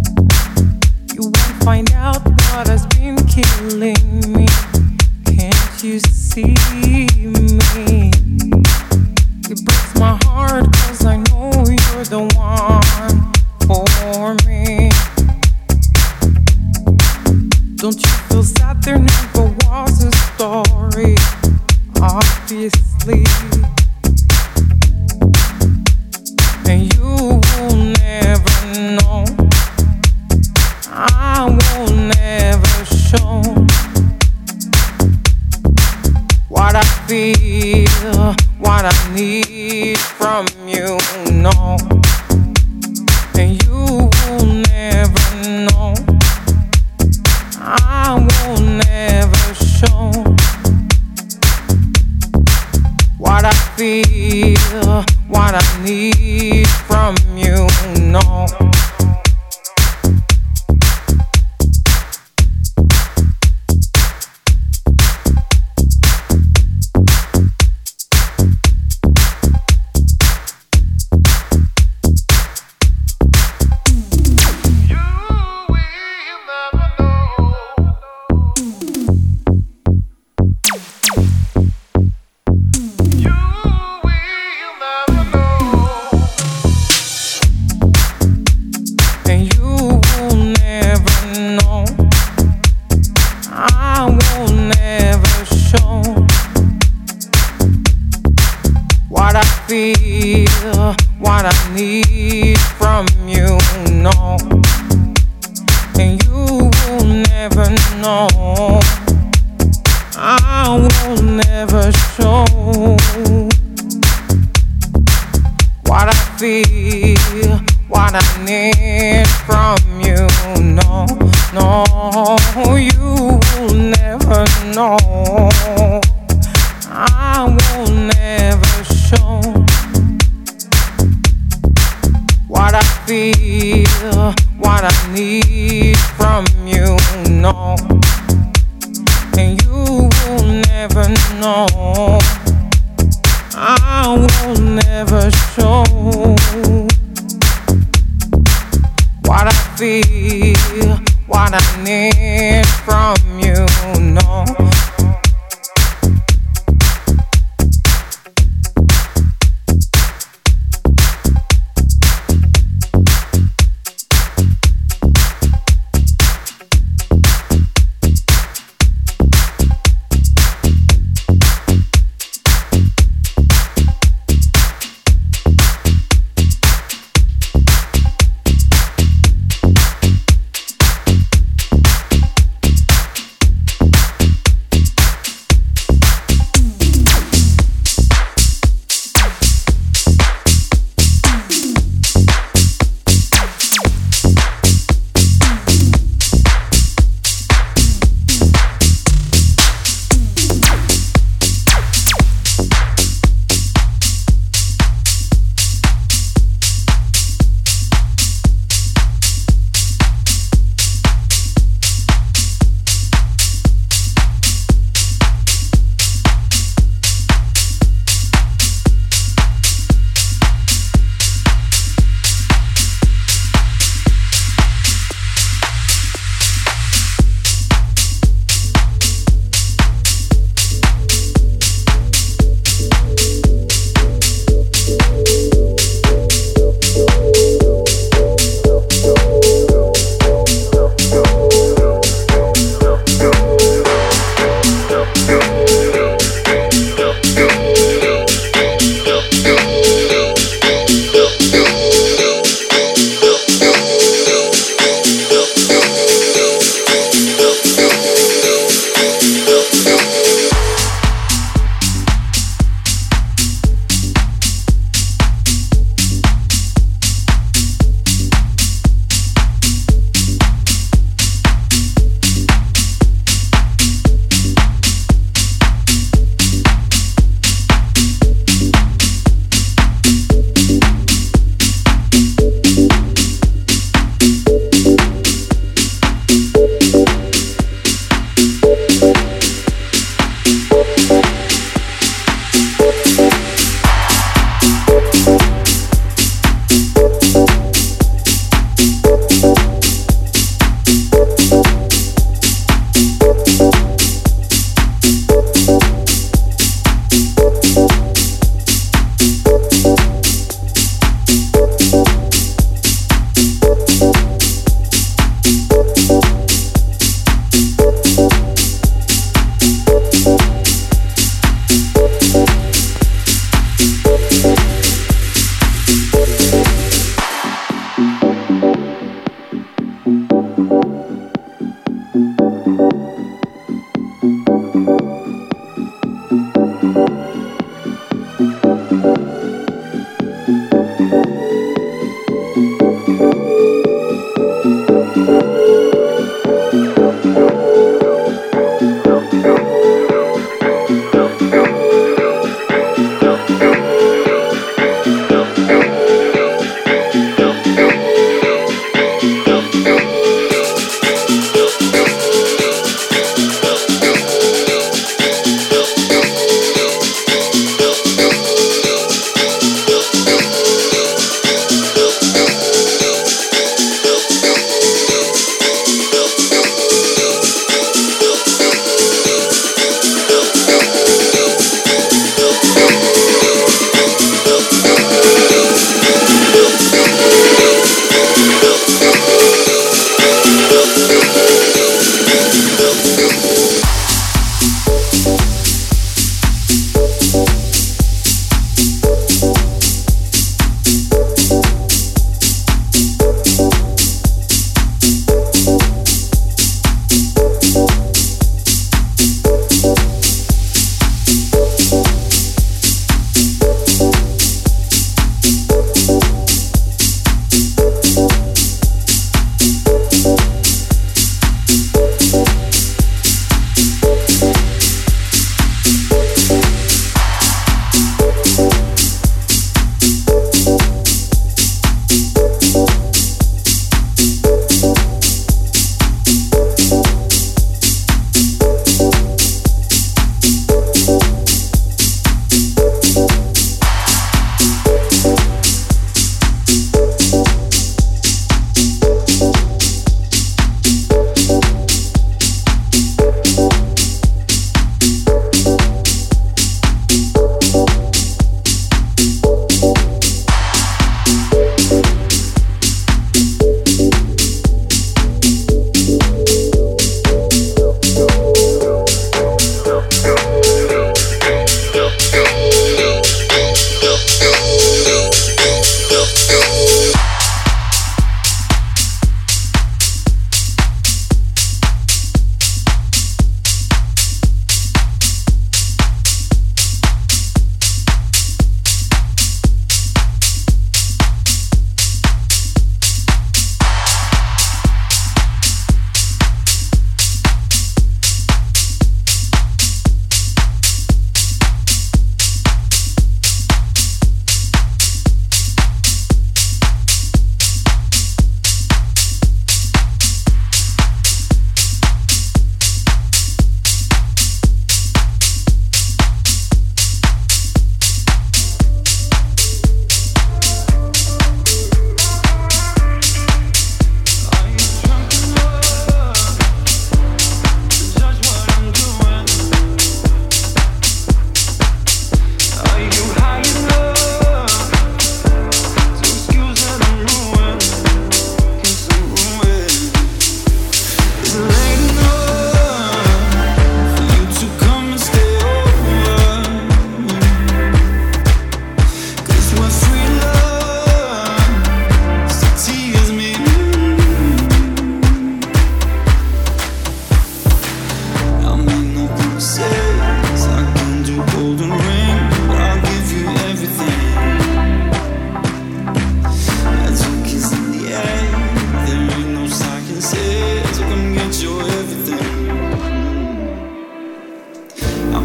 You won't find out what has been killing me. Can't you see me. It breaks my heart 'cause I know you're the one for me. Don't you feel sad? There never was a story, obviously. And you will never know. I will never show what I feel, what I need from you, no. And you will never know. I will never show what I feel, what I need from you, no. Feel what I need from you, no. And you will never know. I will never show what I feel, what I need from you, no, no. You will never know. I will never show what I feel, what I need from you, no. And you will never know. I will never show what I feel, what I need from you, no.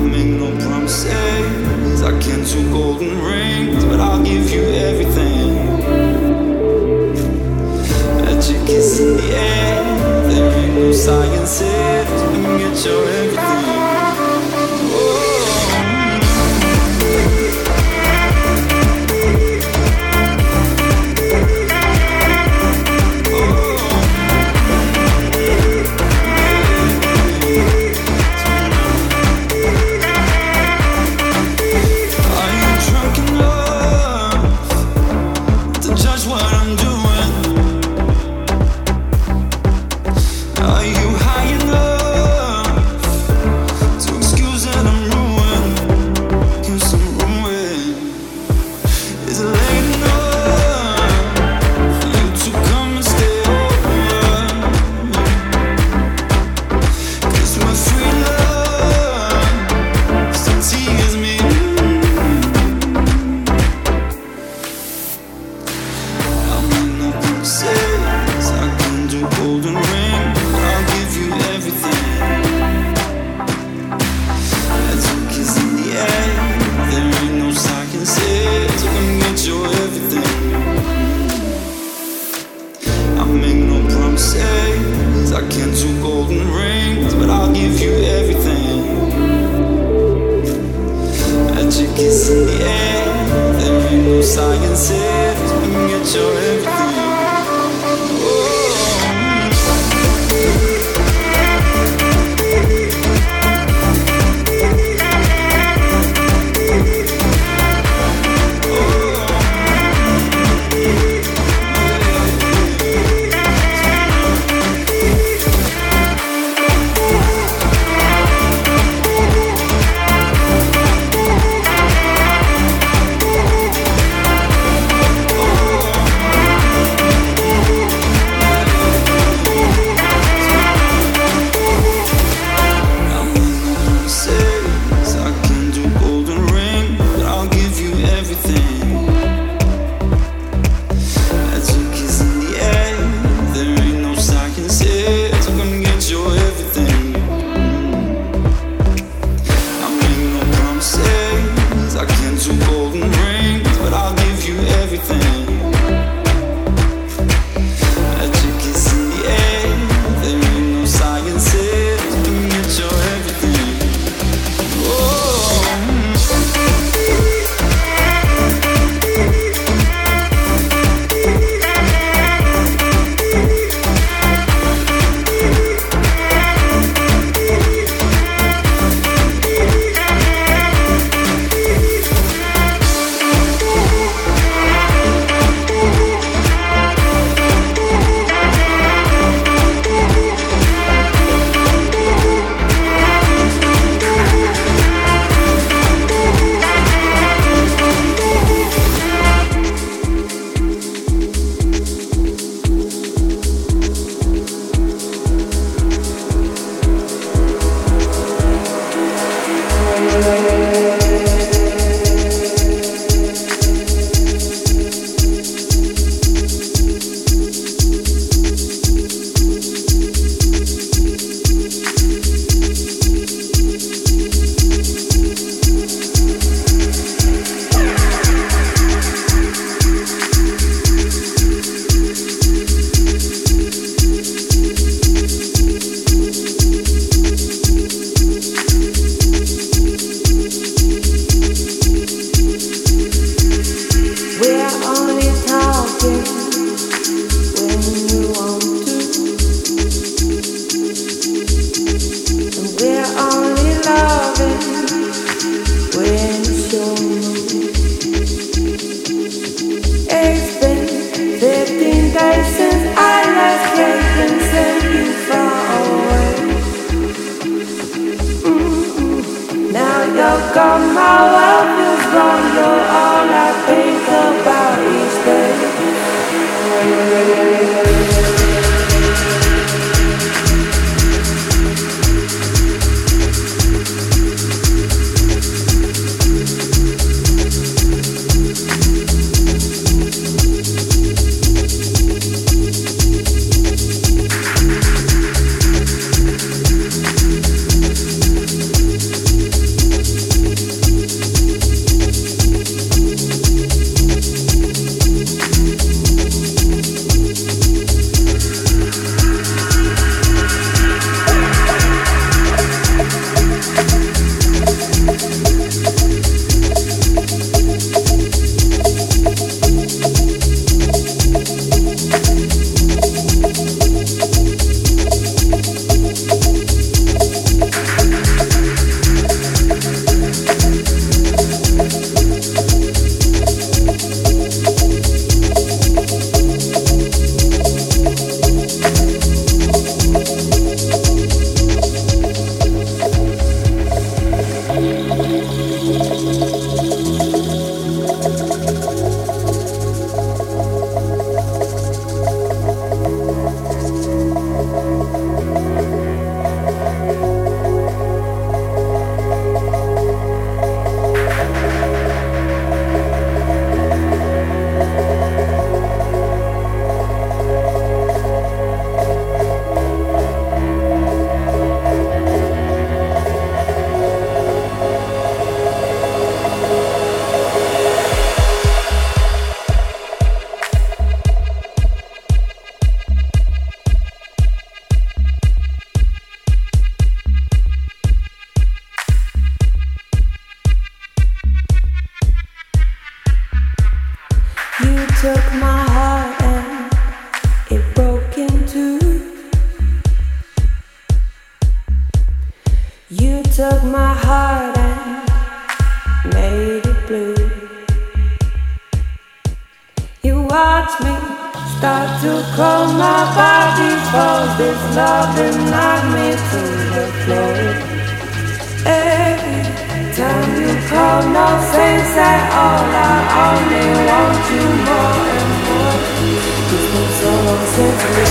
make no promises. I can't do golden rings, but I'll give you everything. Magic is in the air. There ain't no science here to get your everything. took my heart and it broke in two. You took my heart and made it blue. You watched me start to cold, my body falls. This love and knocked me to the floor. Every time you call, no sense at all. I only want you more and more. It's been so long since we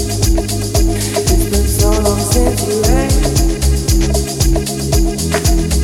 It's been so long since you ain't.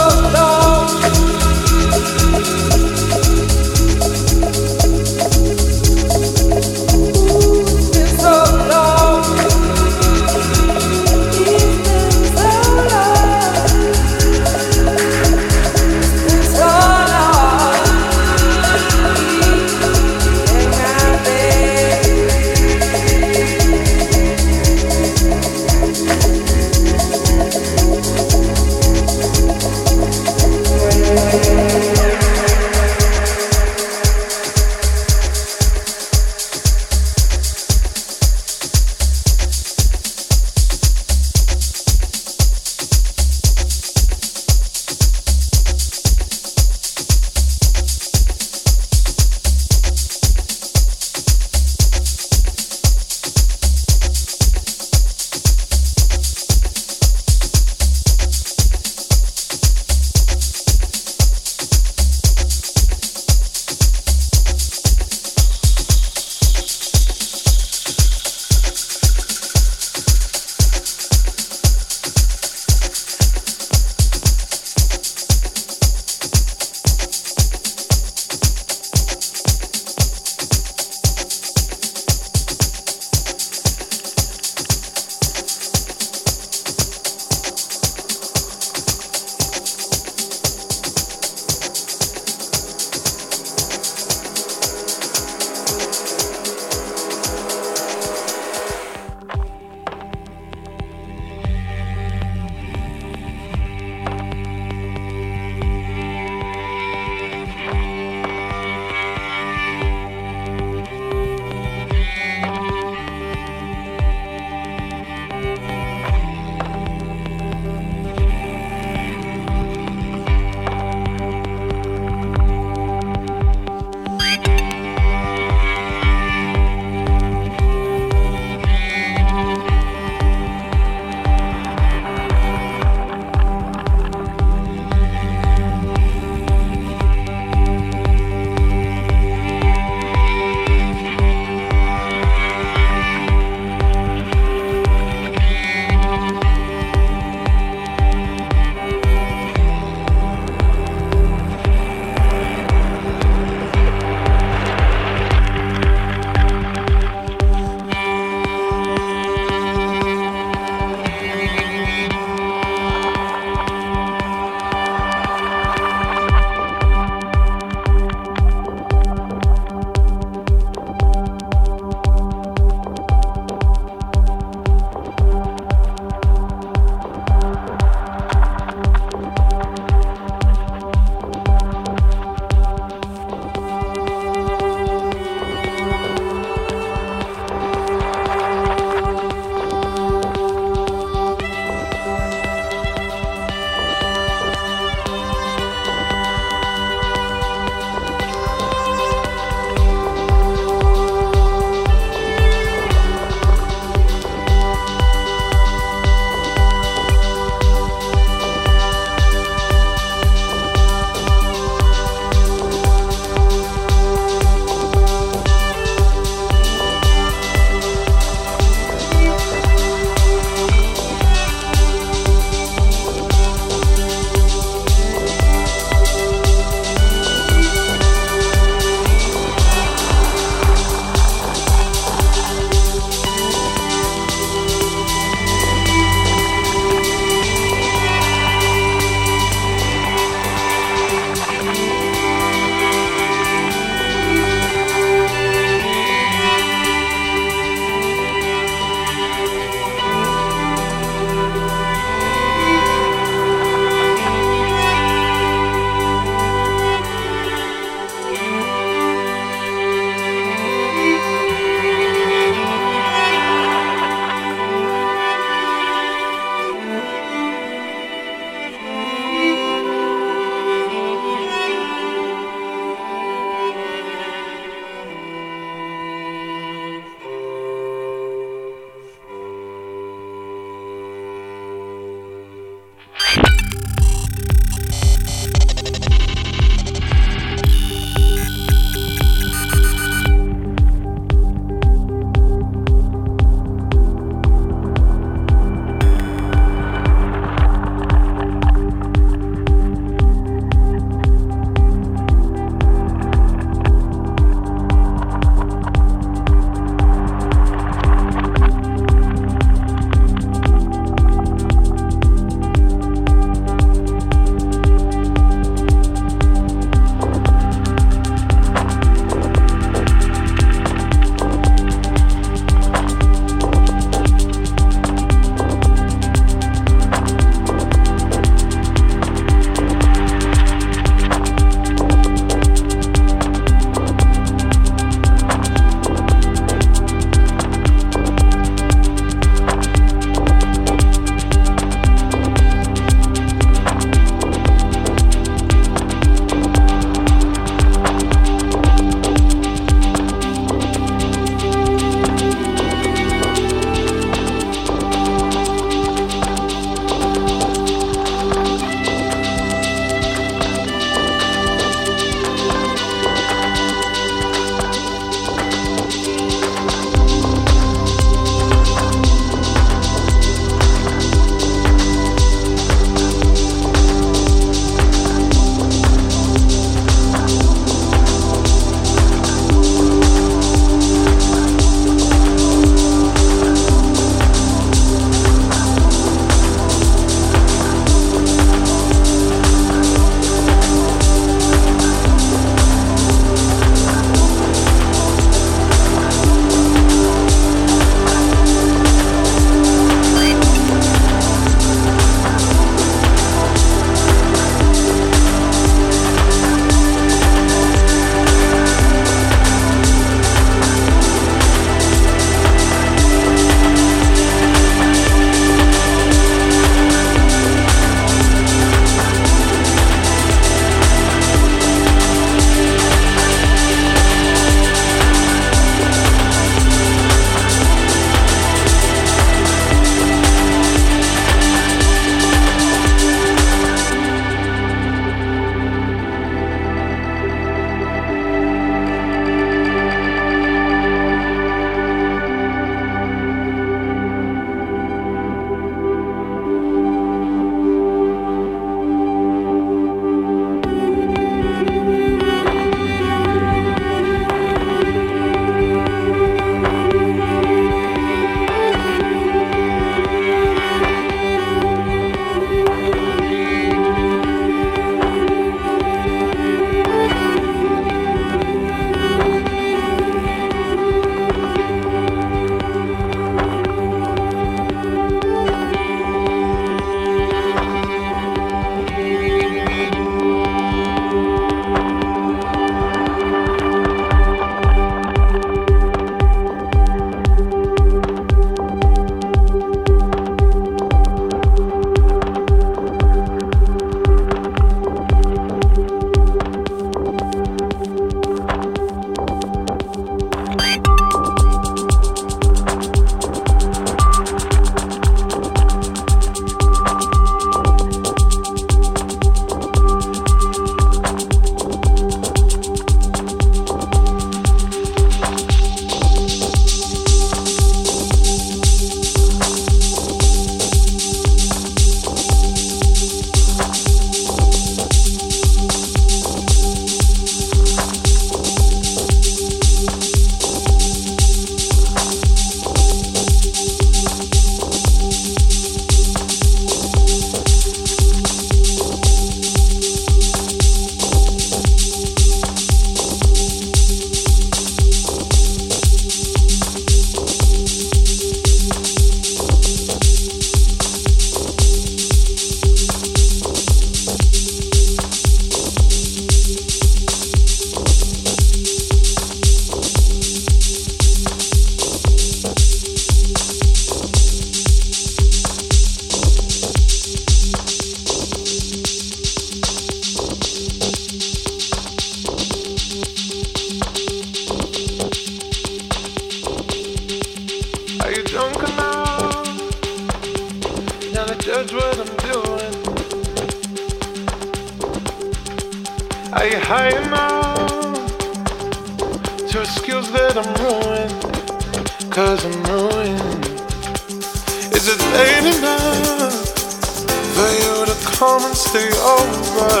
high enough to excuse that I'm ruined, 'cause I'm ruined. Is it late enough for you to come and stay over?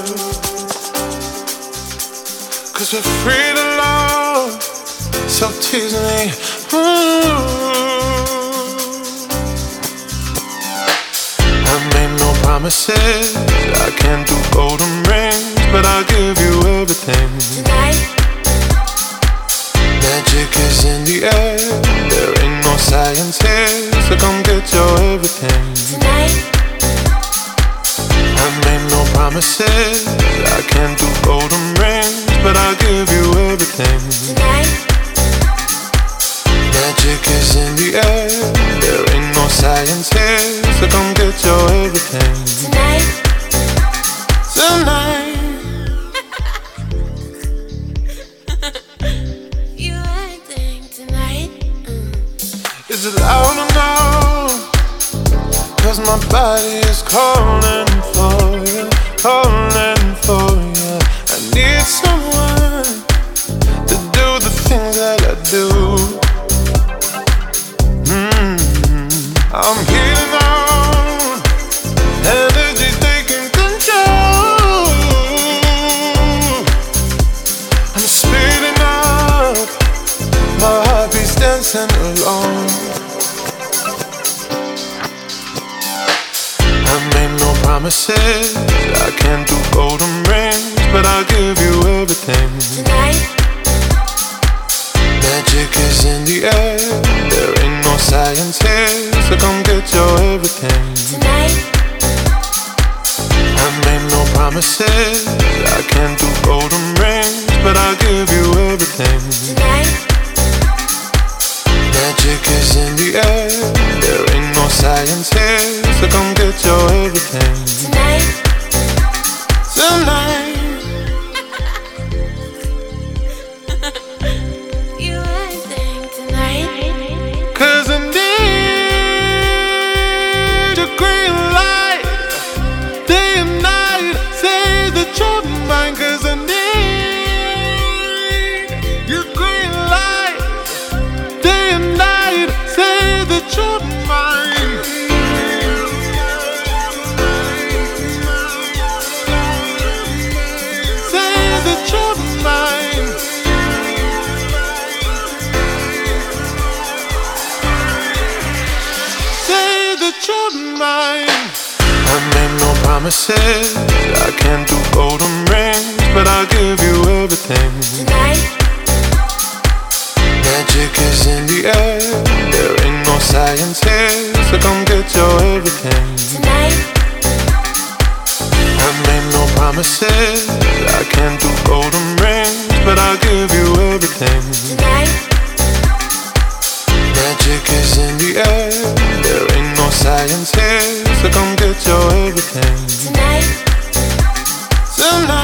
'Cause we're free to love, so tease me. I made no promises, I can't do golden rings, but I'll give you everything. Tonight, Magic is in the air, there ain't no science here, so come get your everything. tonight, I made no promises, I can't do golden rings, but I'll give you everything. tonight, Magic is in the air, there ain't no science here, so come get your everything. tonight. Tonight. You acting tonight. Is it loud or no? 'Cause my body is calling for you, calling for you. I need someone to do the things that I do. I'm healing on, energy taking control. I'm speeding up, my heart beats dancing alone. I made no promises, I can't do golden rings, but I'll give you everything. Tonight, Magic is in the air, there ain't no science here, so come get your everything. tonight, I made no promises, I can't do golden rings, but I'll give you everything. tonight, Magic is in the air, there ain't no science here, so come get your everything. tonight. Tonight. You acting tonight. 'Cause I need a green light, day and night, say that you're mine. 'Cause I need your green light, day and night, say that you're mine. Say that you're mine. Say that you're mine. I made no promises, I can't do golden rings, but I'll give you everything. Tonight, Magic is in the air, there ain't no science here, so come get your everything. tonight, I made no promises, I can't do golden rings, but I'll give you everything. tonight, Magic is in the air, there ain't no science here, so come get your everything. tonight. Tonight.